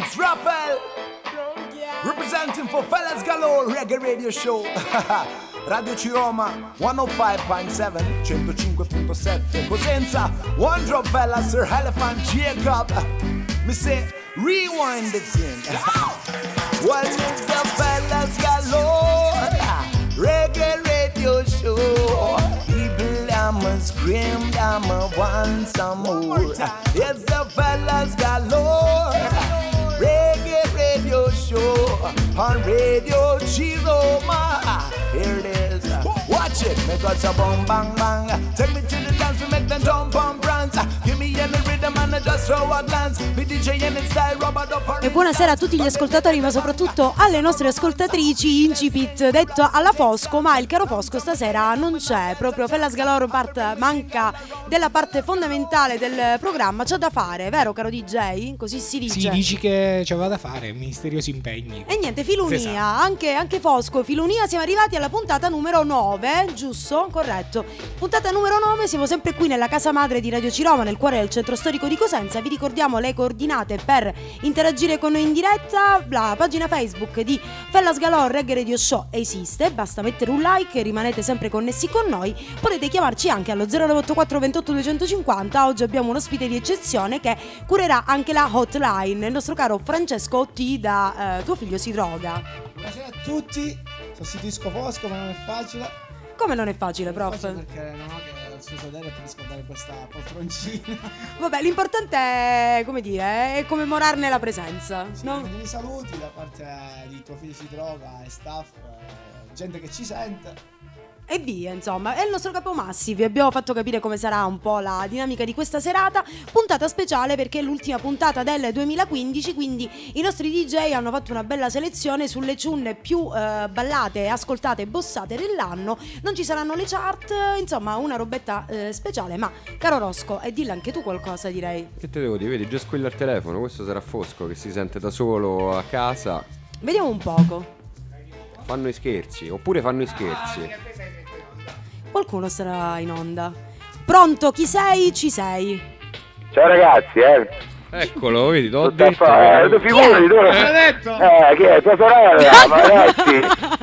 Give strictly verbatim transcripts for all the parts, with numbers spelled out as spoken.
It's Raphael, representing for Fellas Galore Reggae Radio Show. Radio Ciroma centocinque virgola sette, centocinque virgola sette. Cosenza, One Drop Fella, Sir Elephant Jacob. Me say, rewind the thing. Well, it's the Fellas Galore Reggae Radio Show. People, I'ma scream, I'ma want some more. It's the Fellas Galore Reggae Radio Show on Radio Ciroma. Here it is. Watch it. Make us a boom bang bang. Take me to the dance, we make them jump on brands. Give me any rhythm and I just throw a glance. Be D J in style, Robert up. E buonasera a tutti gli ascoltatori, ma soprattutto alle nostre ascoltatrici. Incipit detto alla Fosco, ma il caro Fosco stasera non c'è. Proprio Fellas Galore part, manca della parte fondamentale del programma. C'ha da fare, vero caro D J? Così si dice. Sì, dici che c'aveva da fare, misteriosi impegni. E niente, Filunia, anche, anche Fosco, Filunia, siamo arrivati alla puntata numero nove, giusto? Corretto. Puntata numero nove, siamo sempre qui nella casa madre di Radio Ciroma, nel cuore del centro storico di Cosenza. Vi ricordiamo le coordinate per interagire con noi in diretta. La pagina Facebook di Fellas Galore Reggae Radio Show esiste, basta mettere un like e rimanete sempre connessi con noi. Potete chiamarci anche allo zero nove otto quattro ventotto duecentocinquanta. Oggi abbiamo un ospite di eccezione che curerà anche la hotline, il nostro caro Francesco Otti da eh, Tuo Figlio Si Droga. Buonasera a tutti. Sostituisco Fosco, ma non è facile. Come non è facile, prof? È facile perché non ho che il suo sedere per riscaldare questa poltroncina. Vabbè, l'importante è, come dire, è commemorarne la presenza, sì, no? Dei saluti da parte di Tuo Figlio Si Droga e staff, eh, gente che ci sente. E via, insomma, è il nostro capo Massi. Vi abbiamo fatto capire come sarà un po' la dinamica di questa serata. Puntata speciale perché è l'ultima puntata del duemilaquindici, quindi i nostri D J hanno fatto una bella selezione sulle tune più eh, ballate, ascoltate e bossate dell'anno. Non ci saranno le chart, insomma una robetta eh, speciale. Ma caro Rosco, e dillo anche tu qualcosa, direi. Che te devo dire? Vedi, già squilla il telefono. Questo sarà Fosco che si sente da solo a casa. Vediamo un poco. Fanno i scherzi, oppure fanno i scherzi. Qualcuno sarà in onda. Pronto, chi sei? Ci sei. Ciao ragazzi, eh. Eccolo, vedi, t'ho Tutto detto. fa- eh, tu figurati, tu. L'ho detto. Eh, che è tua sorella, ma ragazzi.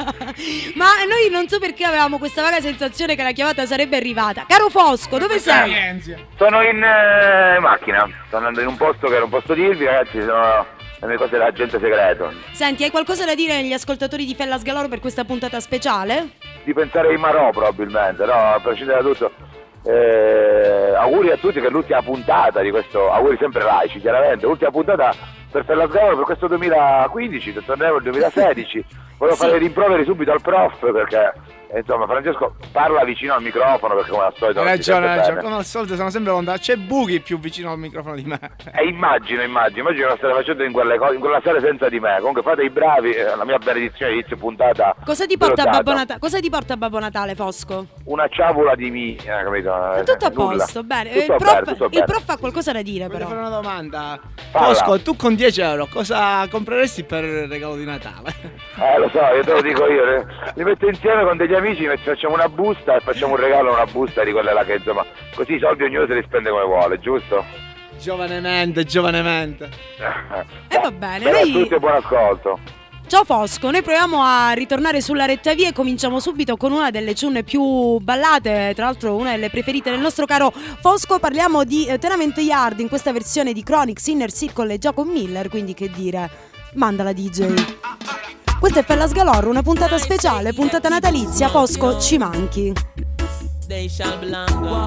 Ma noi non so perché avevamo questa vaga sensazione che la chiamata sarebbe arrivata. Caro Fosco, dove sei? Sono in eh, macchina, sto andando in un posto che era un posto di Irvi, ragazzi, sono le mie cose dell'agente segreto. Senti, hai qualcosa da dire agli ascoltatori di Fellas Galore per questa puntata speciale? Di pensare ai Marò probabilmente, no, a prescindere da tutto. Eh, auguri a tutti che l'ultima puntata di questo, auguri sempre laici chiaramente, l'ultima puntata per Fellas Galore per questo duemilaquindici, torneremo il duemilasedici. Volevo Sì. fare rimproveri subito al prof perché eh, insomma Francesco parla vicino al microfono perché come al solito Hai non si ragione, sente ragione. bene. Come al solito sono sempre lontano. C'è Bughi più vicino al microfono di me. E immagino, immagino, immagino che state facendo in quelle cose, in quella sera senza di me. Comunque fate i bravi, eh, la mia benedizione inizio puntata. Cosa ti porta velociata. Babbo Natale? Cosa ti porta Babbo Natale, Fosco? Una ciabola di mi, eh, capito? È tutto a Nulla. posto, bene. Tutto il, prof, bene, tutto il bene. prof ha qualcosa da dire, Voglio però. fare una domanda. Falla. Fosco, tu con dieci euro cosa compreresti per il regalo di Natale? Eh lo so, io te lo dico io, eh. li metto insieme con degli amici, ci facciamo una busta e facciamo un regalo, una busta di quelle là che insomma, così i soldi ognuno se li spende come vuole, giusto? Giovanemente, giovanemente. E va bene, Bene a noi- tutti e buon ascolto. Ciao Fosco, noi proviamo a ritornare sulla retta via e cominciamo subito con una delle tune più ballate, tra l'altro una delle preferite del nostro caro Fosco. Parliamo di eh, Tenement Yard in questa versione di Chronix, Inner Circle e Jacob Miller, quindi che dire, mandala D J. Questa è Fellas Galore, una puntata speciale, puntata natalizia. Fosco, ci manchi. They shall belong.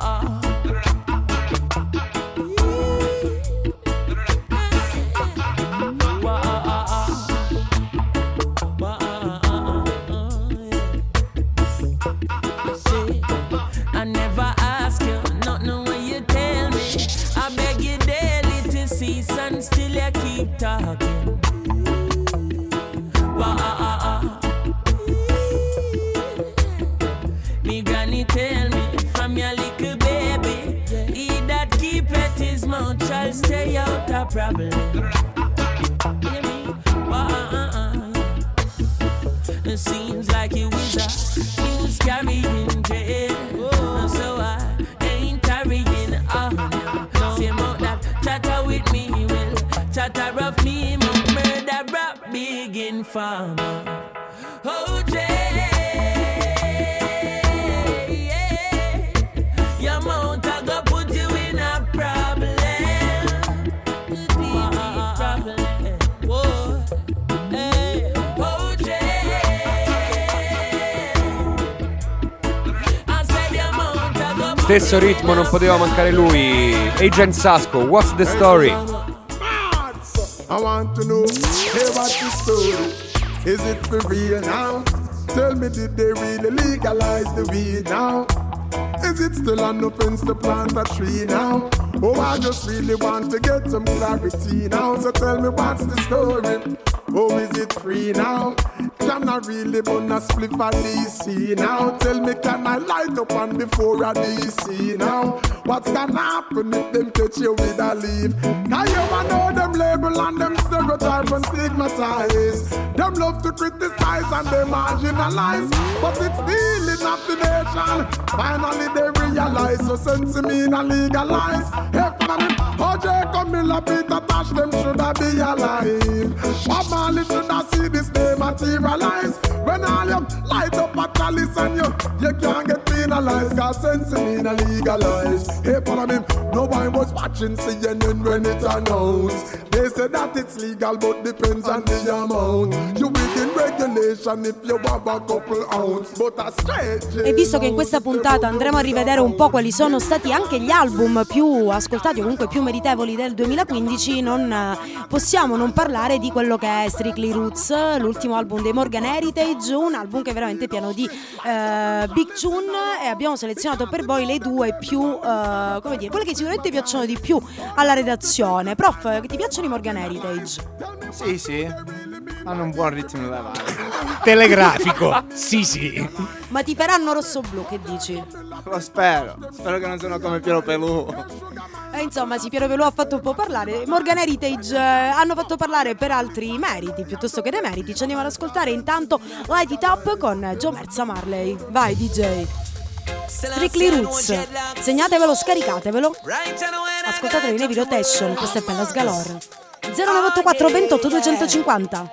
I never ask you, nothing when you tell me. I beg you daily to cease and still you keep talking. Me granny tell me from your little baby, he that keepeth his mouth shall stay out of problem. Hear me? It seems like you was a news carrying dread, so I ain't carrying on. Same out that chatter with me will chatter of me farmer. Oh, Jay, yeah. Your mouth I go put you in a problem. Deep problem. Whoa. Hey. Oh, Jay. I said your mouth I go put Stesso ritmo, non poteva mancare lui. Agent Sasco, what's the story? I want to know, hey, what's the story? Is it for real now? Tell me, did they really legalize the weed now? Is it still an offense to plant a tree now? Oh, I just really want to get some clarity now. So tell me, what's the story? Oh, is it free now? Can I really burn a spliff at D C now? Tell me, can I light up on before a D C now? What's gonna happen if them catch you with a leaf? Now you wanna know them label and them stereotype and stigmatize. Them love to criticize and they marginalize. But it's stealing of the nation. Finally they realize, so sense me and legalize. Hey, for me, O J Camilla, Peter Tosh, them shoulda be alive. Bob Marley shoulda see this day materialize. When all you light up a chalice and you, you can't get penalized. Cause sense me and legalize. Hey, follow me, no one was watching C N N when it announced. They say that it's legal but depends on the amount. You within regulation if you have a couple ounce. But a straight. E visto che in questa puntata andremo a rivedere un po' quali sono stati anche gli album più ascoltati o comunque più meritevoli del duemilaquindici, non eh, possiamo non parlare di quello che è Strictly Roots, l'ultimo album dei Morgan Heritage, un album che è veramente pieno di eh, big tune, e abbiamo selezionato per voi le due più, eh, come dire, quelle che sicuramente piacciono di più alla redazione. Prof, ti piacciono i Morgan Heritage? Sì, sì, hanno un buon ritmo da levare. Telegrafico, sì sì. Ma ti faranno rosso-blu, che dici? Lo spero, spero che non siano come Piero Pelù. E insomma, sì, Piero Pelù ha fatto un po' parlare. Morgan Heritage eh, hanno fatto parlare per altri meriti piuttosto che demeriti. Ci andiamo ad ascoltare intanto Light It Up con Joe Merza Marley. Vai D J. Strictly Roots, segnatevelo, scaricatevelo, ascoltatelo in heavy rotation. Questa è Pellas Galore. zero nove otto quattro ventotto duecentocinquanta.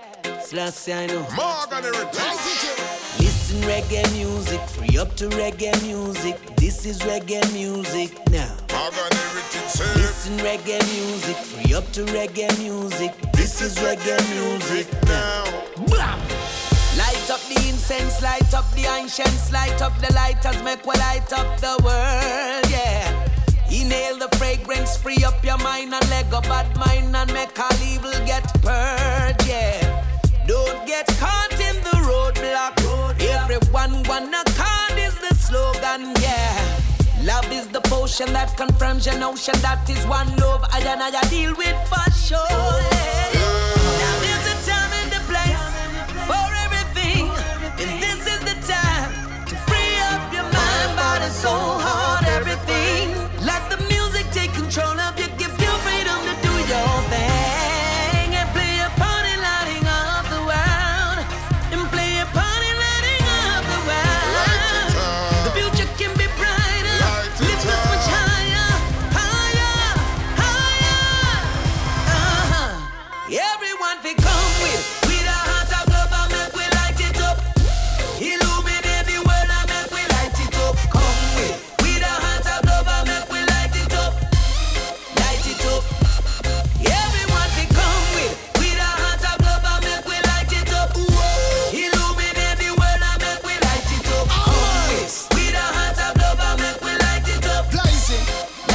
Listen reggae music, free up to reggae music. This is reggae music now. Listen reggae music, free up to reggae music. This is reggae music now. Blah. Light up the incense, light up the ancients, light up the lighters, make we light up the world, yeah. Inhale the fragrance, free up your mind and let go bad mind and make all evil get purged, yeah. Don't get caught in the roadblock. Everyone wanna card is the slogan, yeah. Love is the potion that confirms your notion. That is one love I and I deal with for sure, yeah. Now there's a time and a place for everything, and this is the time to free up your mind, body, soul, heart, everything. Let the music take control of you, give you freedom to do your thing, and play a party lighting up the world, and play a party lighting up the world. The future can be brighter, lift us much higher, higher, higher. Uh-huh. Everyone fi come with, with a heart of love and make we light it up. Illuminate the world and make we light it up. Come with, with a heart of love and make we light it up. Light it up. Everyone fi come with, with a heart of love and make we light it up. Illuminate the world and make we light it up. Come with, with a heart of love and make we light it up. Light it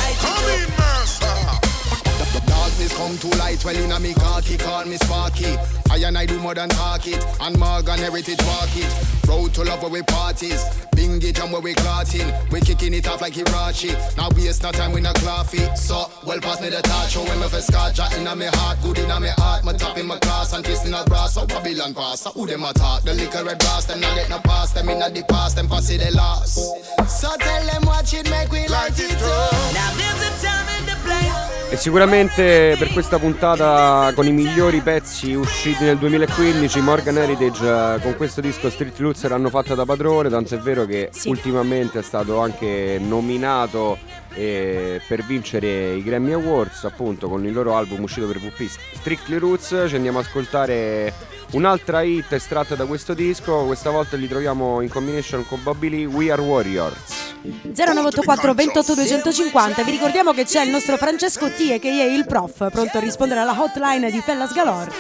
up. Darkness come to light, well in a me khaki, call me Sparky. I and I do more than talk it, and Morgan Heritage walk it. Road to love where we parties, bing it and where we clotting. We kicking it off like Hirachi, now waste no time with no coffee. So, well pass me the touch, show when me for scotch. In a me heart, good in a me heart. Me top in my class and kissing a brass. So Babylon pass, so who them attack? The liquor red brass, them not get no pass. Them in a the past, them pass it the last. So tell them watch it, make we light it up. Now there's a time and a place. E sicuramente per questa puntata con i migliori pezzi usciti nel duemilaquindici, Morgan Heritage con questo disco Strictly Roots l'hanno fatta da padrone, tanto è vero che sì, ultimamente è stato anche nominato e per vincere i Grammy Awards, appunto, con il loro album uscito per V P Strictly Roots. Ci andiamo ad ascoltare un'altra hit estratta da questo disco, questa volta li troviamo in combination con Bobby Lee, We Are Warriors. zero nove otto quattro ventotto duecentocinquanta. Vi ricordiamo che c'è il nostro Francesco T, che è il prof, pronto a rispondere alla hotline di Fellas Galore.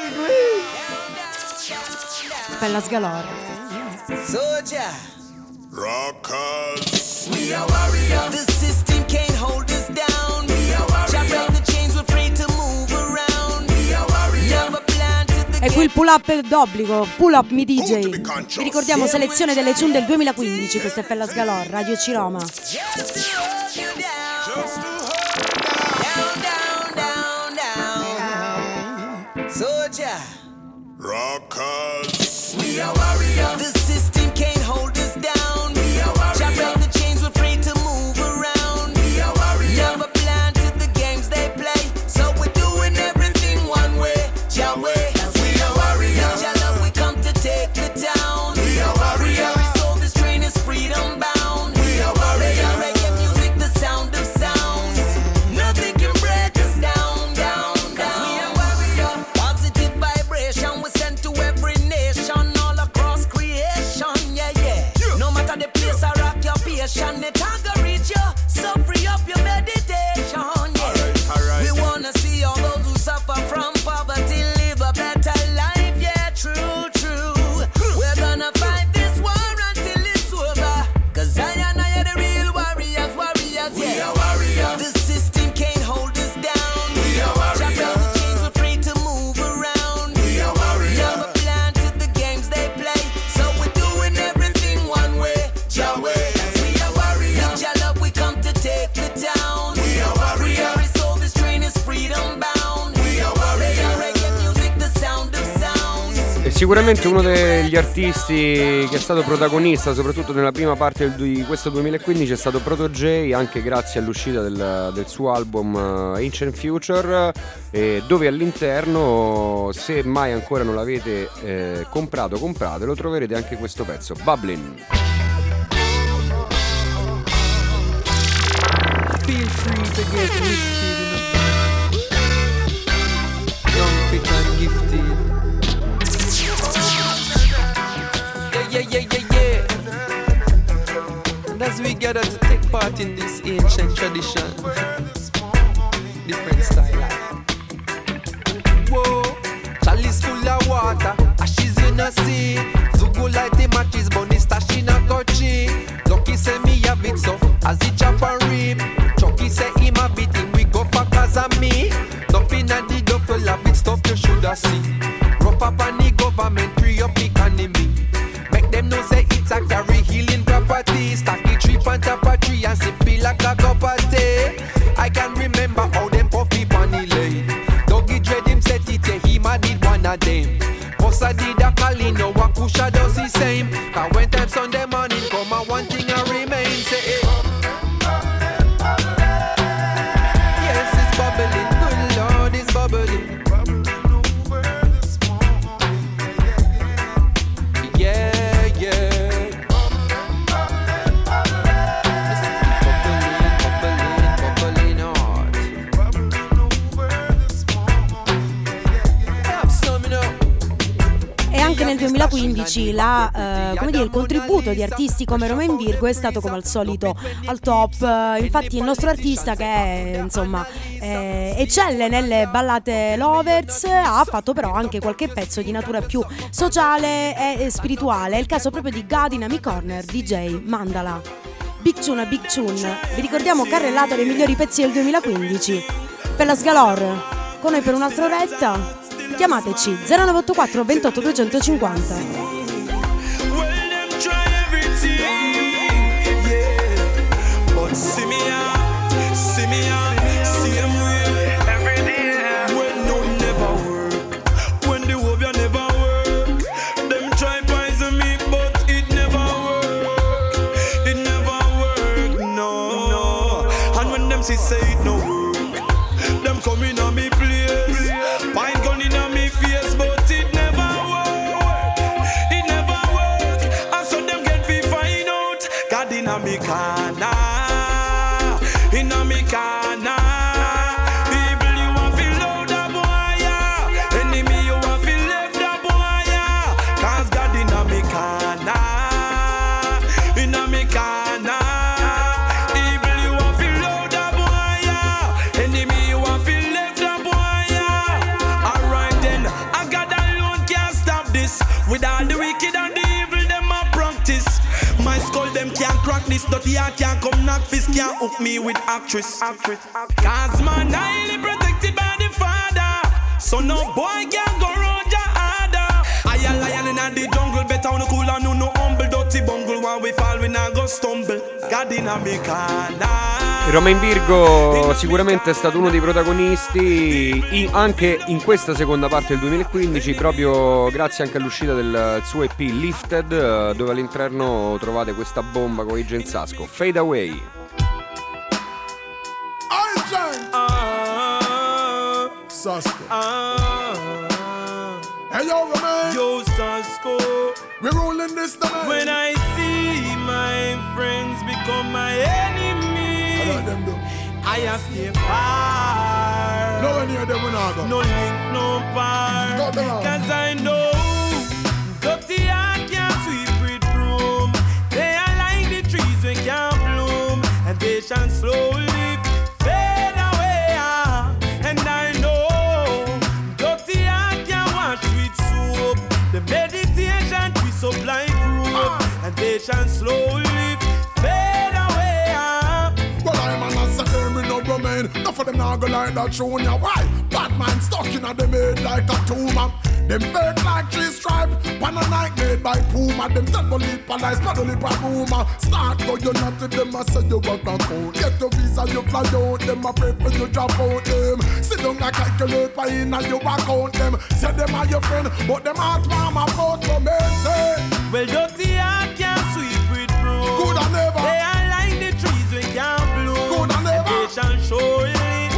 Fellas Galore. Soldier. Rockers. We are warriors. The system can't hold us down. We are warriors. Chop out the chains, we're free to move around. We are warriors. Never blind to the E qui il pull up d'obbligo, pull up mi D J. Vi ricordiamo selezione delle tune del duemilaquindici, questo è Fellas Galore, Radio Ciroma. Soldier. Rockers. We are warriors. The system can't hold us down. We are warriors. Chop out the chains, we're free to move around. We are warriors. Never blind to the games they play. So we're doing everything one way, your way. We are warriors. Your love, we come to take the town. We are warriors. Every soul, this train is freedom bound. We are warriors. Reggae music, the sound of sounds. Nothing can break us down, down, down. We are warriors. Positive vibration was sent to every nation all across creation. Yeah, yeah. No matter the place I rock your patient, it can go reach you. So free up your meditation. Yeah. We wanna see all those who suffer from poverty live a better life. Yeah, true, true. We're gonna fight this war until it's over. Cause I and I are the real warriors, warriors. Yeah. We are warriors. The system can't hold us down. We are warriors. Chop out the chains, we're free to move around. We are warriors. Never blind to the games they play. So we're doing everything one way, your way. We are warriors. With your love, we come to take the town. We are warriors. Every soul, this train is freedom bound. We are warriors. Reggae music, the sound of sounds. E sicuramente uno degli artisti che è stato protagonista soprattutto nella prima parte del- di questo duemilaquindici è stato Proto J, anche grazie all'uscita del, del suo album eh, Ancient Future, eh, dove all'interno, se mai ancora non l'avete eh, comprato, compratelo, troverete anche questo pezzo, Bubbling. Feel free to get lifted. Young, fit and gifted. Yeah, yeah, yeah, yeah, yeah. And as we gather to take part in this ancient tradition, different style. Whoa, chalice full of water, ashes in a sea. Zugu light the matches, bunny stash in a coachy. Lucky say me have it so, as it chop and rip. Chucky say him a beat him, we go for cause of me. Nothing a the duffel a bit stuff you shoulda see. Rough up on the government, free up the economy. Make them know say it's a carry healing property. Stack the tree on top of tree and sip it like a cup of tea. I can remember how them puffy bunny lane. Dougie Dread him set it, yeah, him a did one of them. Bossa did a calling, no Wakusha does the same. Cause when time Sunday morning come and one thing a remain, say hey. Yes, it's bubbling, good Lord, it's bubbling. Yeah, yeah. Bubbling, bubbling, bubbling hard. Have some, you know. E anche nel duemilaquindici la, eh, come dire, il contributo di artisti come Romain Virgo è stato come al solito al top. Eh, Infatti il nostro artista, che è, insomma eh, eccelle nelle ballate lovers, ha fatto però anche qualche pezzo di natura più sociale e spirituale. È il caso proprio di God in Ami Corner, D J Mandala. Big Tune a Big Tune. Vi ricordiamo carrellata dei migliori pezzi del duemilaquindici. Per la Sgalore, con noi per un'altra oretta. Chiamateci zero nove otto quattro ventotto duecentocinquanta. Well, them try everything, yeah. But see me out, see me out, same way. Every day. When no never work, when the wobia never work. Them try poison me, but it never work. It never work, no, no. And when them see say it no work, them come in on me place. Pine gun in on me face, but it never work. It never work. And so them get me find out. God in a me corner. With all the wicked and the evil them a practice. My skull them can't crack this. Dirty I can't come knock fist. Can't hook me with actress. Cause man highly protected by the Father. So no boy can't go round your harder. I a lion in the jungle. Better on the cool and no humble. Dirty bungle. When we fall we not go stumble. God in a me corner. Romain Virgo sicuramente è stato uno dei protagonisti in, anche in questa seconda parte del duemilaquindici, proprio grazie anche all'uscita del suo E P Lifted, dove all'interno trovate questa bomba con Agent Sasco, Fade Away. Agent uh, Sasco uh, Hey yo Romain, yo Sasco, we rolling this domain. When I see my friends become my enemy, them do. I have stay far. No one near them will not go. No link, no bar. Cause I know dirty heart can't sweep with broom. They are like the trees we can't bloom, and they shall slowly fade away. And I know dirty heart can't wash with soap. The meditation twist up like rope, and they shall slowly fade away. Well, I'm an assassin, me no Romain. Enough of them now go like that show ya. Why? Batman stuck in a them head like a tumor. Them fake like three stripe. One a night made by Puma. Them temple lip and ice paddle lip and rumor. Start go you not to them a say you work and count. Get your visa you fly out. Them a pray for you drop out them. Sit down and calculate why in and you account them. Say them are your friend, but them heart mama about Romain say. Well, dirty heart can't sweep with broom. Good and never. They are like the trees we can't bloom. Good and never. They shall surely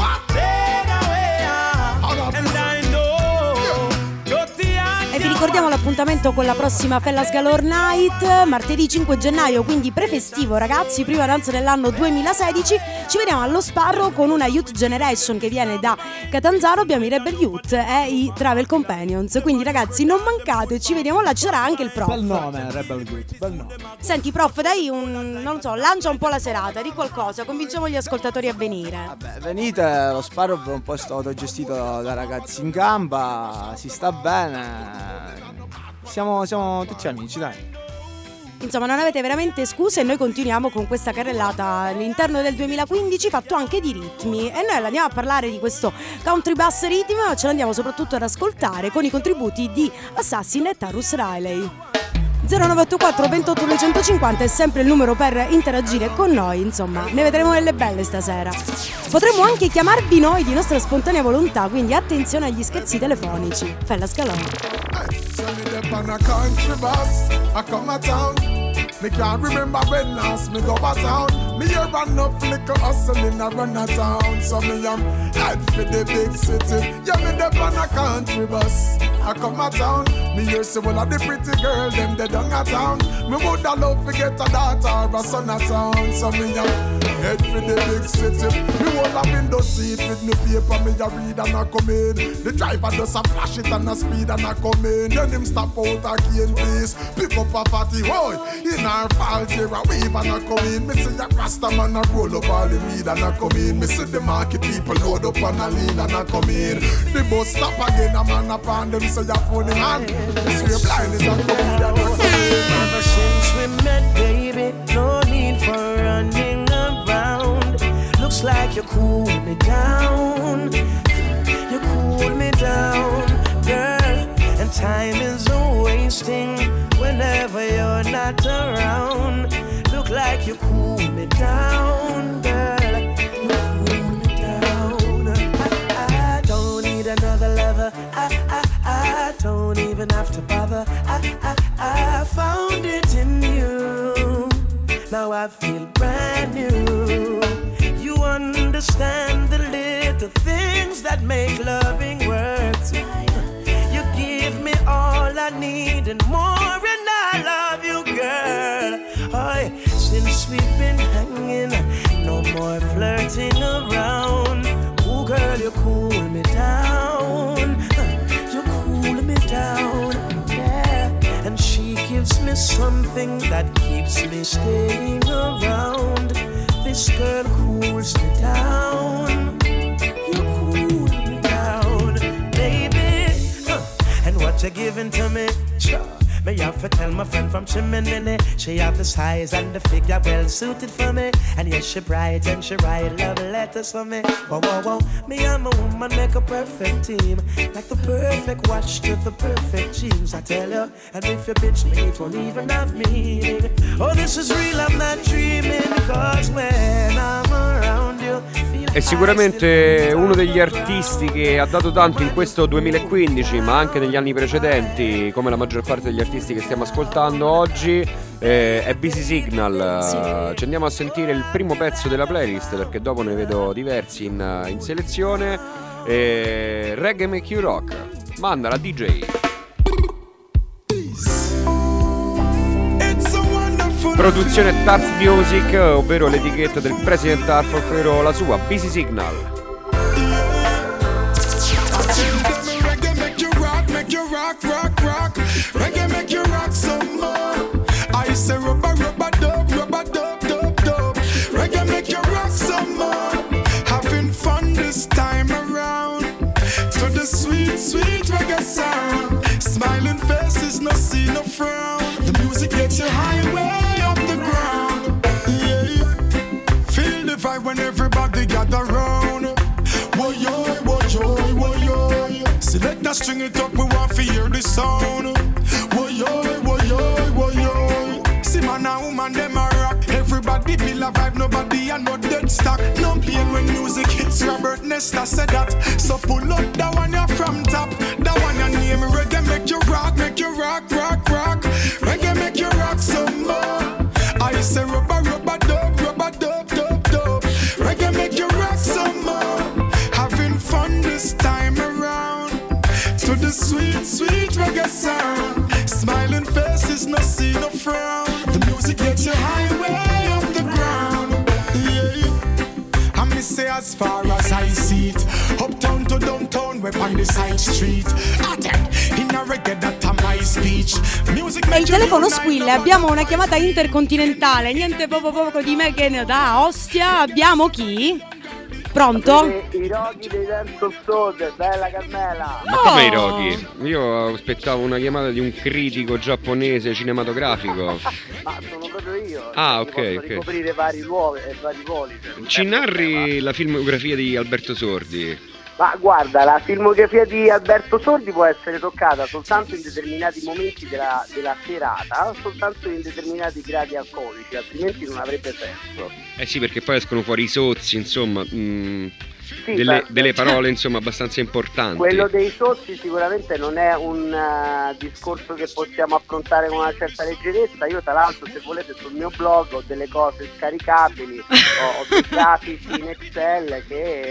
fade away. And I know dirty heart. E vi ricordiamo l'appuntamento con la prossima Fellas Galore Night, martedì cinque gennaio, quindi prefestivo ragazzi, prima danza dell'anno duemilasedici. Ci vediamo allo Sparrow con una Youth Generation che viene da Catanzaro, abbiamo i Rebel Youth e i Travel Companions, quindi ragazzi non mancate, ci vediamo là, ci sarà anche il prof. Bel nome, Rebel Youth, bel nome. Senti prof, dai un, non so, lancia un po' la serata, di qualcosa, convinciamo gli ascoltatori a venire. Vabbè, venite, lo Sparrow è un posto autogestito da ragazzi in gamba, si sta bene. Siamo, siamo tutti amici, dai. Insomma, non avete veramente scuse e noi continuiamo con questa carrellata all'interno del duemilaquindici fatto anche di ritmi. E noi andiamo a parlare di questo country bass rhythm, ce l'andiamo soprattutto ad ascoltare con i contributi di Assassin e Tarrus Riley. zero nove otto quattro ventotto duecentocinquanta è sempre il numero per interagire con noi, insomma, ne vedremo delle belle stasera. Potremmo anche chiamarvi noi di nostra spontanea volontà, quindi attenzione agli scherzi telefonici. Fellas Galore. On a country bus, I come a town. Me can't remember when last me go a town. Me here run up little hustling a run a town. So me am head for the big city. Yeah, me dep on a country bus, I come a town. Me here see all of the pretty girl them they down a town. Me woulda love to get a daughter or a son a town. So me am head for the big city. Me hold a window seat with me paper. Me a read and a come in. The driver does a flash it and a speed and a come in. Then him stop out a cane place, pick up a fatty boy. In our fault here a wave and a come in. Me see a rasta man a roll up all the weed and a come in. Me see the market people load up and a lean and a come in. The bus stop again a man upon them say a funny man. Me see a blind is a come in and a come in. Ever since we met baby, no need for running around. Looks like you cool me down. You cool me down, girl. And time is a wasting whenever you're not around. Look like you cool me down, girl. You cool me down. I, I don't need another lover. I, I, I don't even have to bother. I, I, I found it in you. Now I feel brand new. You understand the little things that make loving work. You give me all I need and more, and I love you, girl. Oh, since we've been hanging, no more flirting around. Oh, girl, you cool me down. You cool me down, yeah. And she gives me something that keeps me staying around. This girl cools me down. You cool me down, baby. And what you're giving to me, have to tell my friend from Chimney. She have the size and the figure well suited for me. And yes, she bright and she write love letters for me. Whoa, whoa, whoa. Me and my woman make a perfect team. Like the perfect watch with the perfect jeans. I tell you, and if you bitch me, it won't even have meaning. Oh, this is real, I'm not dreaming. Cause when I'm around you, è sicuramente uno degli artisti che ha dato tanto in questo duemilaquindici, ma anche negli anni precedenti, come la maggior parte degli artisti che stiamo ascoltando oggi. eh, È Busy Signal. Sì. Ci andiamo a sentire il primo pezzo della playlist, perché dopo ne vedo diversi in, in selezione. eh, Reggae Make You Rock. Manda la D J. Produzione Tarf Music, ovvero l'etichetta del President Tarf, ovvero la sua Busy Signal. Reggae make you rock, make you rock, rock, rock. Reggae make you rock some more. I say rubber, rubber, dub, rubber, dub, dub, dub. Reggae make you rock some more. Having fun this time around. To the sweet, sweet reggae sound. Smiling faces, no see, no frown. The music gets you high way off the ground. Yeah. Feel the vibe when everybody gather round. Woyo, woyo, woyo. Select that string it up, we want to hear the sound. Woyo, woyo, woyo. See man and woman, them a rock. Everybody feel a vibe, nobody a no dead stock. No pain when music hits, Robert Nesta said that. So pull up that one you from top. That one your name, reggae make you rock, make you rock, rock, rock. Reggae make you rock some more. I say rubber, rubber, dub, rubber, dub, dub, dub. Reggae make you rock some more. Having fun this time around. To the sweet, sweet reggae sound. Smiling faces, no see, no frown. The music gets you high way off the ground. Yeah. And me say as far as I see it, uptown to downtown, we're on the side street. Attack in a reggae that a my speech. Music. E il telefono squilla, abbiamo una chiamata intercontinentale, niente poco poco di me che ne da Ostia. Abbiamo chi? Pronto? I roghi dei Dance of Soul, bella Carmela. Ma come i roghi? Io aspettavo una chiamata di un critico giapponese cinematografico. Ma sono proprio io. Ah, ok, ok, ok. Ricoprire vari ruoli e vari ruoli. Ci narri la filmografia di Alberto Sordi? Ma guarda, la filmografia di Alberto Sordi può essere toccata soltanto in determinati momenti della, della serata, soltanto in determinati gradi alcolici, altrimenti non avrebbe senso. Eh sì, perché poi escono fuori i sozzi, insomma, mh, sì, delle, beh, delle parole insomma abbastanza importanti. Quello dei sozzi sicuramente non è un uh, discorso che possiamo affrontare con una certa leggerezza. Io tra l'altro, se volete, sul mio blog ho delle cose scaricabili, ho, ho dei grafici in Excel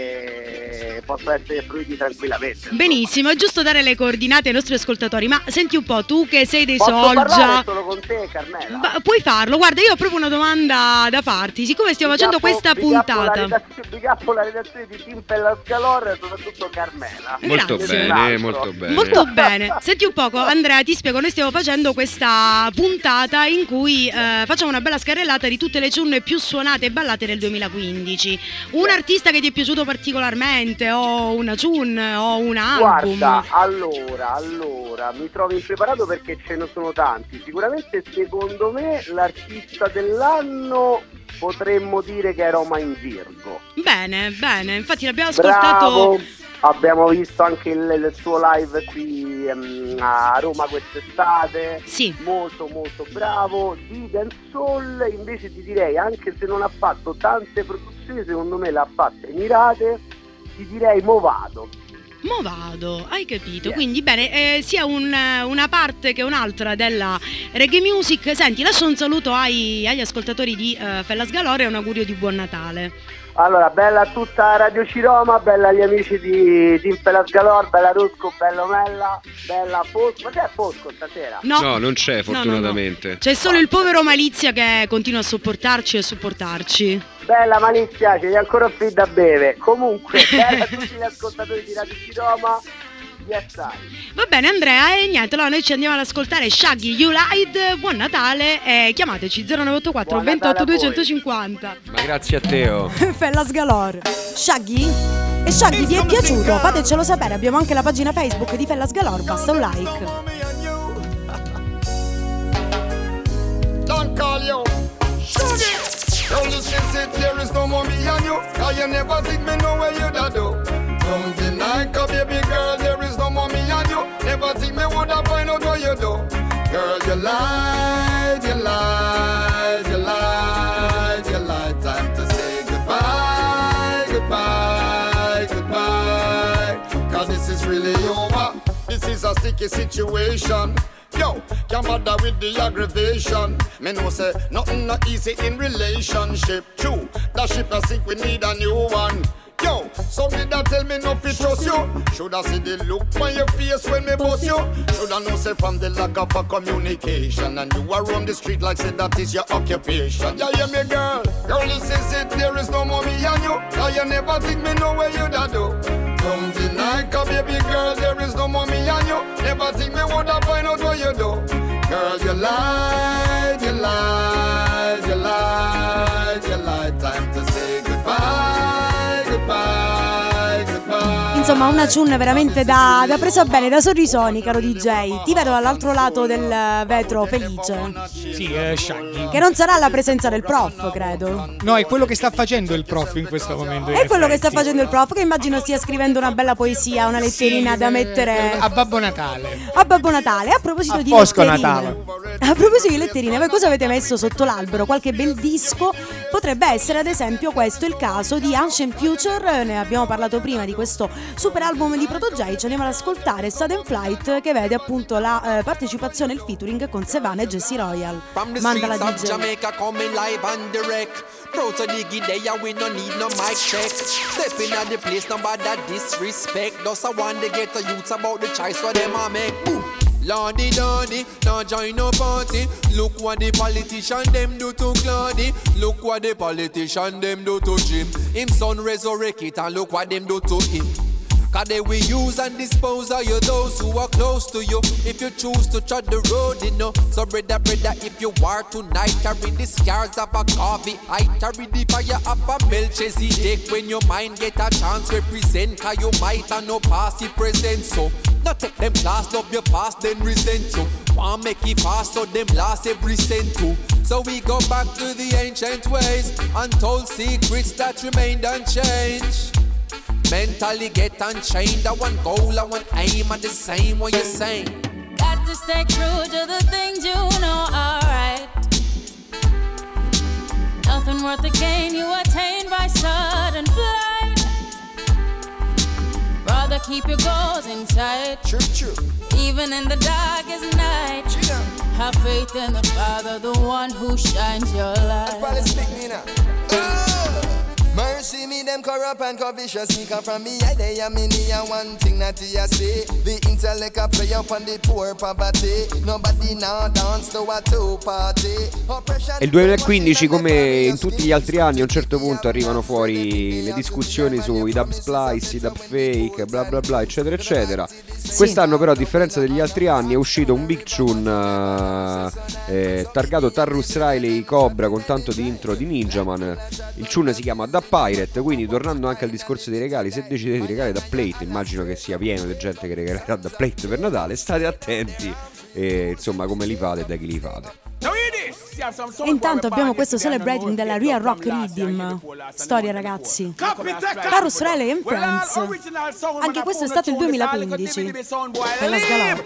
che possono essere fruiti tranquillamente. Benissimo, è giusto dare le coordinate ai nostri ascoltatori. Ma senti un po', tu che sei dei Posso Soulja, parlare solo con te, Carmela? Ba- puoi farlo, guarda, io ho proprio una domanda da farti. Siccome stiamo Big facendo up, questa big up puntata, la redazione, big up la redazione di Tim Pella Scalor e soprattutto Carmela. Molto Grazie. bene, molto bene. molto bene. Senti un poco, Andrea, ti spiego, noi stiamo facendo questa puntata in cui eh, facciamo una bella scarrellata di tutte le tune più suonate e ballate del duemilaquindici. Un artista che ti è piaciuto particolarmente, o una tune, o un album? Guarda, allora, allora, mi trovo impreparato perché ce ne sono tanti. Sicuramente secondo me l'artista dell'anno potremmo dire che è Roma in Virgo. Bene, bene, infatti l'abbiamo ascoltato. Bravo. Abbiamo visto anche il, il suo live qui um, a Roma quest'estate. Sì. Molto molto bravo. Di Dancehall invece ti direi, anche se non ha fatto tante produzioni, secondo me l'ha fatte mirate, ti direi Movado. Movado, hai capito? Yeah. Quindi bene, eh, sia un, una parte che un'altra della reggae music. Senti, lascio un saluto ai, agli ascoltatori di uh, Fellas Galore e un augurio di buon Natale. Allora, bella a tutta Radio Ciroma, bella agli amici di Team Fellas Galore, bella Rusco, bello Mella, bella Fosco. Ma c'è Fosco stasera? No, no non c'è fortunatamente. No, no, no. C'è solo il povero Malizia che continua a sopportarci e a supportarci. Bella Malizia, c'è ancora qui da bere. Comunque, bella a tutti gli ascoltatori di Radio Ciroma. Yes, va bene Andrea, e niente, allora noi ci andiamo ad ascoltare Shaggy You Lied. Buon Natale e chiamateci zero nove otto quattro ventotto duecentocinquanta. Ma grazie a Teo. Fellas Galore. Shaggy? E Shaggy ti è piaciuto? Fatecelo sapere, abbiamo anche la pagina Facebook di Fellas Galore, basta un like. call you Sugar. Girl, you say sit there is no more me and you, cause you never think me know where you da do. Don't deny, cause baby girl, there is no more me and you. Never think me woulda find out what you do. Girl, you lied, you lied, you lied, you lied. Time to say goodbye, goodbye, goodbye. Cause this is really over. This is a sticky situation. Yo, can't bother with the aggravation. Me know say nothing not easy in relationship. True, that ship I think we need a new one. Yo, somebody that tell me no fit trust you. Shoulda see the look on your face when me bust you. Shoulda know say from the lack of a communication. And you are on the street like say that is your occupation. Yeah, hear me girl, girl you say sit there is no more me and you. Cause you never think me know where you da do. Don't deny, cause baby girl, there is no more me and you. Never think me woulda find out what you do. Girl, you lied, you lied, you lied, you lied. Time to say goodbye, goodbye, goodbye. Insomma, una tune veramente da, da presa bene, da sorrisoni, caro D J. Ti vedo dall'altro lato del vetro felice. Sì, eh, Shaggy. Che non sarà la presenza del prof, credo. No, è quello che sta facendo il prof in questo momento. È quello che sta facendo il prof, che immagino stia scrivendo una bella poesia, una letterina sì, da mettere a Babbo Natale. A Babbo Natale. A proposito a di Fosco letterine, Natale. A proposito di letterine, voi cosa avete messo sotto l'albero? Qualche bel disco? Potrebbe essere ad esempio questo il caso di Ancient Future. Ne abbiamo parlato prima di questo super album di Proto J. Ci andiamo ad ascoltare Sudden Flight, che vede appunto la eh, partecipazione e il featuring con Sevan e Jesse Royal. Manda la D J. Jamaica coming live and direct. Proto Diggy day, we no need no mic check. Stepping at the place, nobody disrespect. Just I want to get the youths about the choice what them a make. Ooh. Lordy Lordy, now join no party. Look what the politician them do to Claudy. Look what the politician them do to Jim. Him son resurrect it and look what them do to him. Cause they will use and dispose of you, those who are close to you. If you choose to tread the road, you know. So brother, brother, if you are tonight, carry the scars of a coffee. I carry the fire of a Melchizedek. When your mind get a chance, represent. Cause you might have no past, you present. So not take them class, love your past, then resent you. Want make it fast, so them last every cent too. So we go back to the ancient ways, untold secrets that remained unchanged. Mentally get unchained. I want goal, I want aim, and the same what you're saying. Got to stay true to the things you know are right. Nothing worth the gain you attain by sudden flight. Rather keep your goals in sight. True, true. Even in the darkest night. True. Have faith in the Father, the one who shines your light. Probably speak me now. Oh. Mercy me them corrupt and covetous. Sneak up from me, I they am in here. One thing that you say, the intellect a play up on the poor poverty. Nobody now dance to a two party. E il duemilaquindici, come in tutti gli altri anni, a un certo punto arrivano fuori le discussioni sui dub splice, i dub fake, bla bla bla, eccetera eccetera. Sì. Quest'anno però, a differenza degli altri anni, è uscito un big tune uh, eh, targato Tarrus Riley Cobra con tanto di intro di Ninjaman. Il tune si chiama Da Pirate, quindi tornando anche al discorso dei regali, se decidete di regalare Da Plate, immagino che sia pieno di gente che regalerà Da Plate per Natale, state attenti e insomma come li fate e da chi li fate. E intanto abbiamo questo celebrating della Real Rock Rhythm. Storia ragazzi. Tarrus Riley and Friends. Anche questo è stato il duemilaquindici. Per la Sgalò.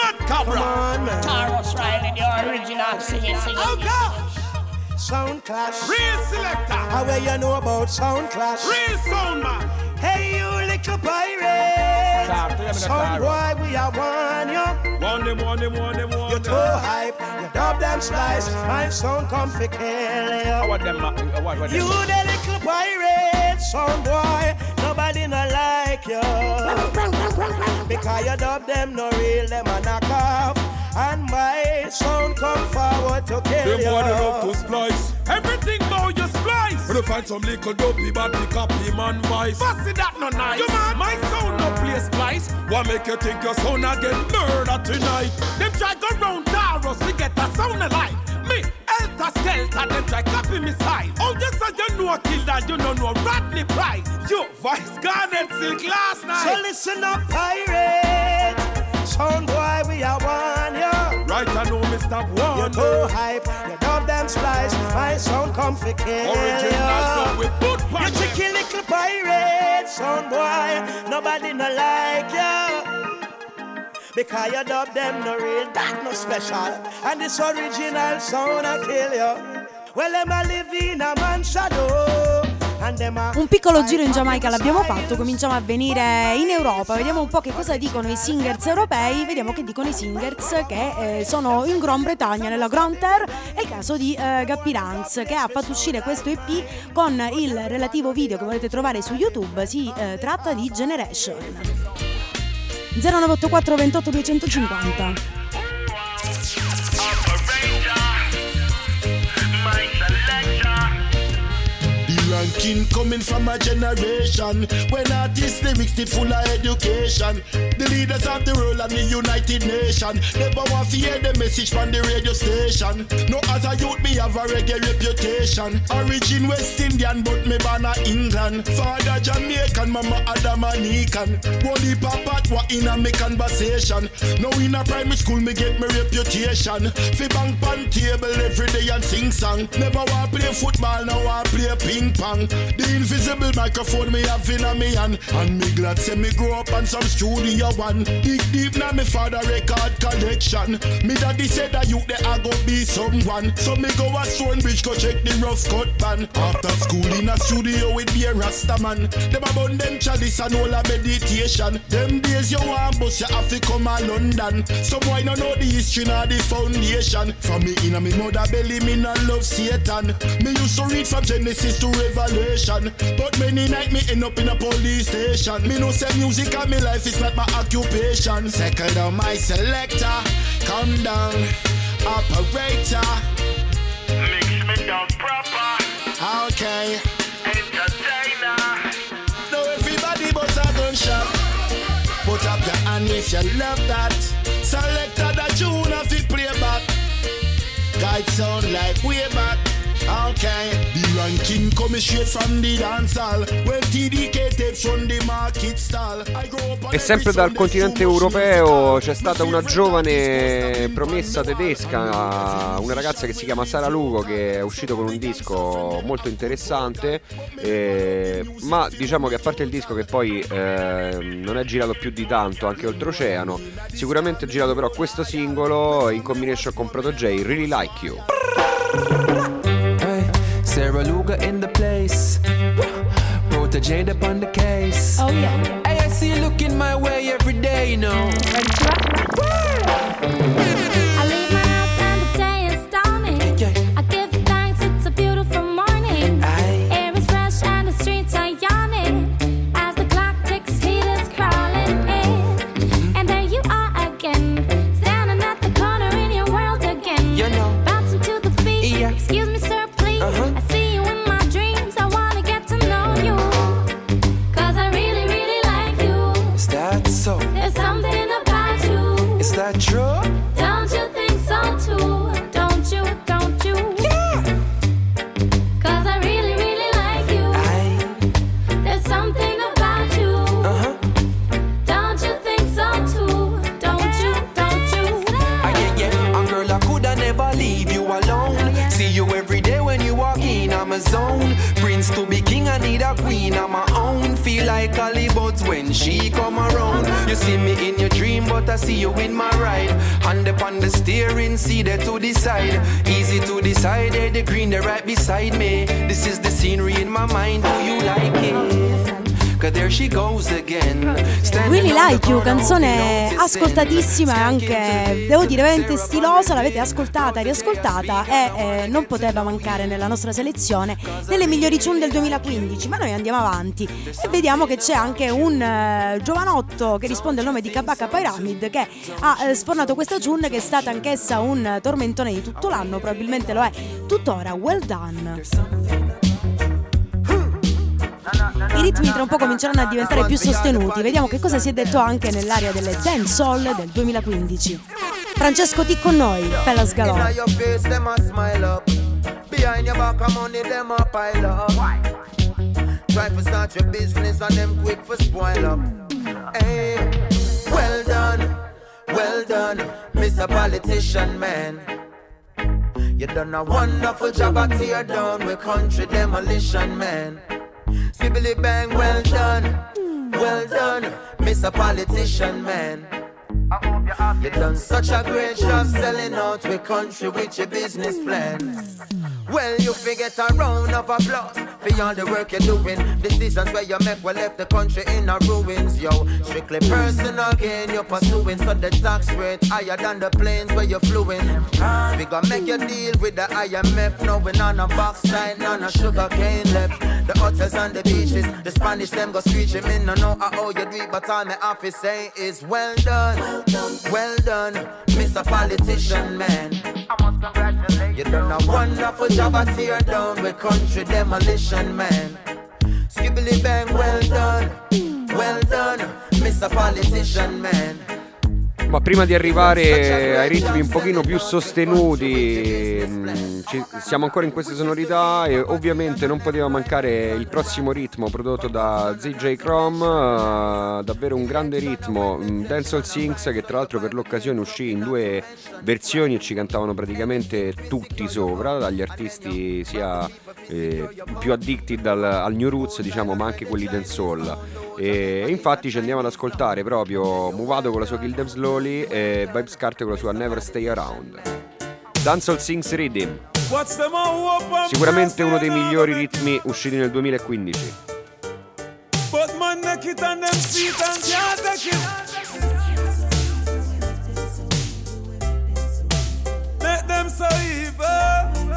Tarrus Riley, the original singing singing. Sound Clash. Real selector. How well you know about Sound Clash? Real sound man. Hey you little pirate. Sound boy we are one you. One them, one them, one them, one you too hype. You dub them slice. My sound come for kill you. What them? What, what you them? the little pirate. Sound boy. Nobody not like you. Because you dub them no real. Them a knock off. And my sound come forward to kill them you. Them one enough to splice. Everything now you splice. When you find some little dopey bad pick up him and vice. Fussy that no nice. You man, my sound no play splice. What make you think your sound again murder tonight? Them try go round Taros to get a sound alike. Me, Elta Skelter, them try copy me style. Oh yes, I you know kill that, you don't know Rodney Price. You, Vice Garnet Silk last night. So listen up, pirate. Sound boy, we are one, yeah. Right, I know Miss stop one. You're too hype, you dub them splice. My sound come for kill you. You tricky little pirate, sound boy. Nobody no like you. Because you dub them no real, that no special. And this original sound I kill you. Well, them a live in a man's shadow. Un piccolo giro in Giamaica l'abbiamo fatto, cominciamo a venire in Europa, vediamo un po' che cosa dicono i singers europei, vediamo che dicono i singers che eh, sono in Gran Bretagna, nella Grand Terre. È il caso di eh, Gappy Ranks, che ha fatto uscire questo E P con il relativo video che potete trovare su YouTube. Si eh, tratta di Generation. zero nove otto quattro ventotto duecentocinquanta. Ranking coming from a generation when artists lyrics did full of education. The leaders of the world and the United Nation never want to hear the message from the radio station. No, as a youth me have a reggae reputation. Origin West Indian but me born a England. Father Jamaican, mama Adamanican. Wally papa what in a me conversation. Now in a primary school me get my reputation. Fi bang pan table every day and sing song. Never want play football, now want play ping pong. The invisible microphone me have in a me hand. And me glad say me grow up on some studio one. Dig deep na me father record collection. Me daddy said that you there I go be someone. So me go a Stonebridge go check the rough cut band. After school in a studio with be a Rasta man. Them a bun them chalice and all a meditation. Them days you want bus you have to come a London. So boy no know the history nor the foundation. From me in a me mother belly me no love Satan. Me used to read from Genesis to Revelation, but many night me end up in a police station. Me no say music and me life is not my occupation. Second down my selector, come down, operator. Mix me down proper. Okay. Entertainer. Now everybody but a gunshot. Put up your hand if you love that. Selector that tune of the playback. Guide sound like way back. Okay, the ranking coming straight from the dancehall. Well, T D K tapes from the market stall. E sempre dal continente europeo c'è stata una giovane promessa tedesca, una ragazza che si chiama Sara Lugo, che è uscito con un disco molto interessante, eh, ma diciamo che a parte il disco che poi eh, non è girato più di tanto anche oltreoceano, sicuramente è girato però questo singolo in combination con Proto J, Really Like You. Sarah Luga in the place, Proto J up on the case. Oh yeah. Hey, I see you looking my way every day, you know. Ready to rock? I leave my house and the day is dawning. Yeah. I give thanks, it's a beautiful morning. Aye. Air is fresh and the streets are yawning. As the clock ticks, heat is crawling in. Mm-hmm. And there you are again, standing at the corner in your world again. You know. Bouncing to the beat. Yeah. Excuse me, sir. Uh-huh. I see you in my dreams, I wanna get to know you. Cause I really, really like you. Is that so? There's something about you. Is that true? Don't you think so too? Don't you, don't you? Yeah. Cause I really, really like you. I... There's something about you. Uh-huh. Don't you think so too? Don't you, don't you? Ah, yeah, yeah. And girl, I coulda never leave you alone. See you every day when you walk in, I'm a zone. Prince to be king, I need a queen, I'm my own. Feel like Hollywood when she come around. You see me in your dream, but I see you in my ride. Hand upon the steering, see there to decide. Easy to decide, there the green, they're right beside me. This is the scenery in my mind, do you like it? There she goes again. Really Like You, canzone ascoltatissima e anche, devo dire, veramente stilosa. L'avete ascoltata e riascoltata e eh, non poteva mancare nella nostra selezione delle migliori tune del duemilaquindici. Ma noi andiamo avanti e vediamo che c'è anche un uh, giovanotto che risponde al nome di Kabaka Pyramid, che ha uh, sfornato questa tune che è stata anch'essa un uh, tormentone di tutto l'anno, probabilmente lo è tuttora. Well Done. I ritmi tra un po' cominceranno a diventare più sostenuti. Vediamo che cosa si è detto anche nell'area delle dancehall del duemilaquindici. Francesco T con noi, Fellas Galore. Try to start your business and them quick for spoil up. Hey, well done, well done, Mister Politician Man. You done a wonderful job at tear down with country demolition, man. Sibbly bang, well done, well done, Mister Politician, man. You done such a great job selling out with country with your business plan. Well, you forget a round of applause for all the work you're doing. Decisions where you make will left the country in a ruins, yo. Strictly personal gain you're pursuing, so the tax rate higher than the planes where you're fluing. We gonna make you deal with the I M F, knowing on a box side, none of sugar cane left. The hotels and the beaches, the Spanish them go screeching. Me no know how you do it, but all my office say is well done, well done, Mister Politician, man. You done a wonderful job at tear down with country demolition, man. Skibbly bang, well done, well done, Mister Politician, man. Ma prima di arrivare ai ritmi un pochino più sostenuti, mh, ci, siamo ancora in queste sonorità e ovviamente non poteva mancare il prossimo ritmo prodotto da Z J Chrome, uh, davvero un grande ritmo, um, Dancehall Sings, che tra l'altro per l'occasione uscì in due versioni e ci cantavano praticamente tutti sopra, dagli artisti sia eh, più addicted al, al New Roots, diciamo, ma anche quelli dancehall. E infatti ci andiamo ad ascoltare proprio Movado con la sua Kill Them Slowly e Vybz Kartel con la sua Never Stay Around. Dancehall Sings Rhythm, sicuramente uno dei migliori ritmi usciti nel duemilaquindici. But man make it on them feet and can't take it. Make them so evil.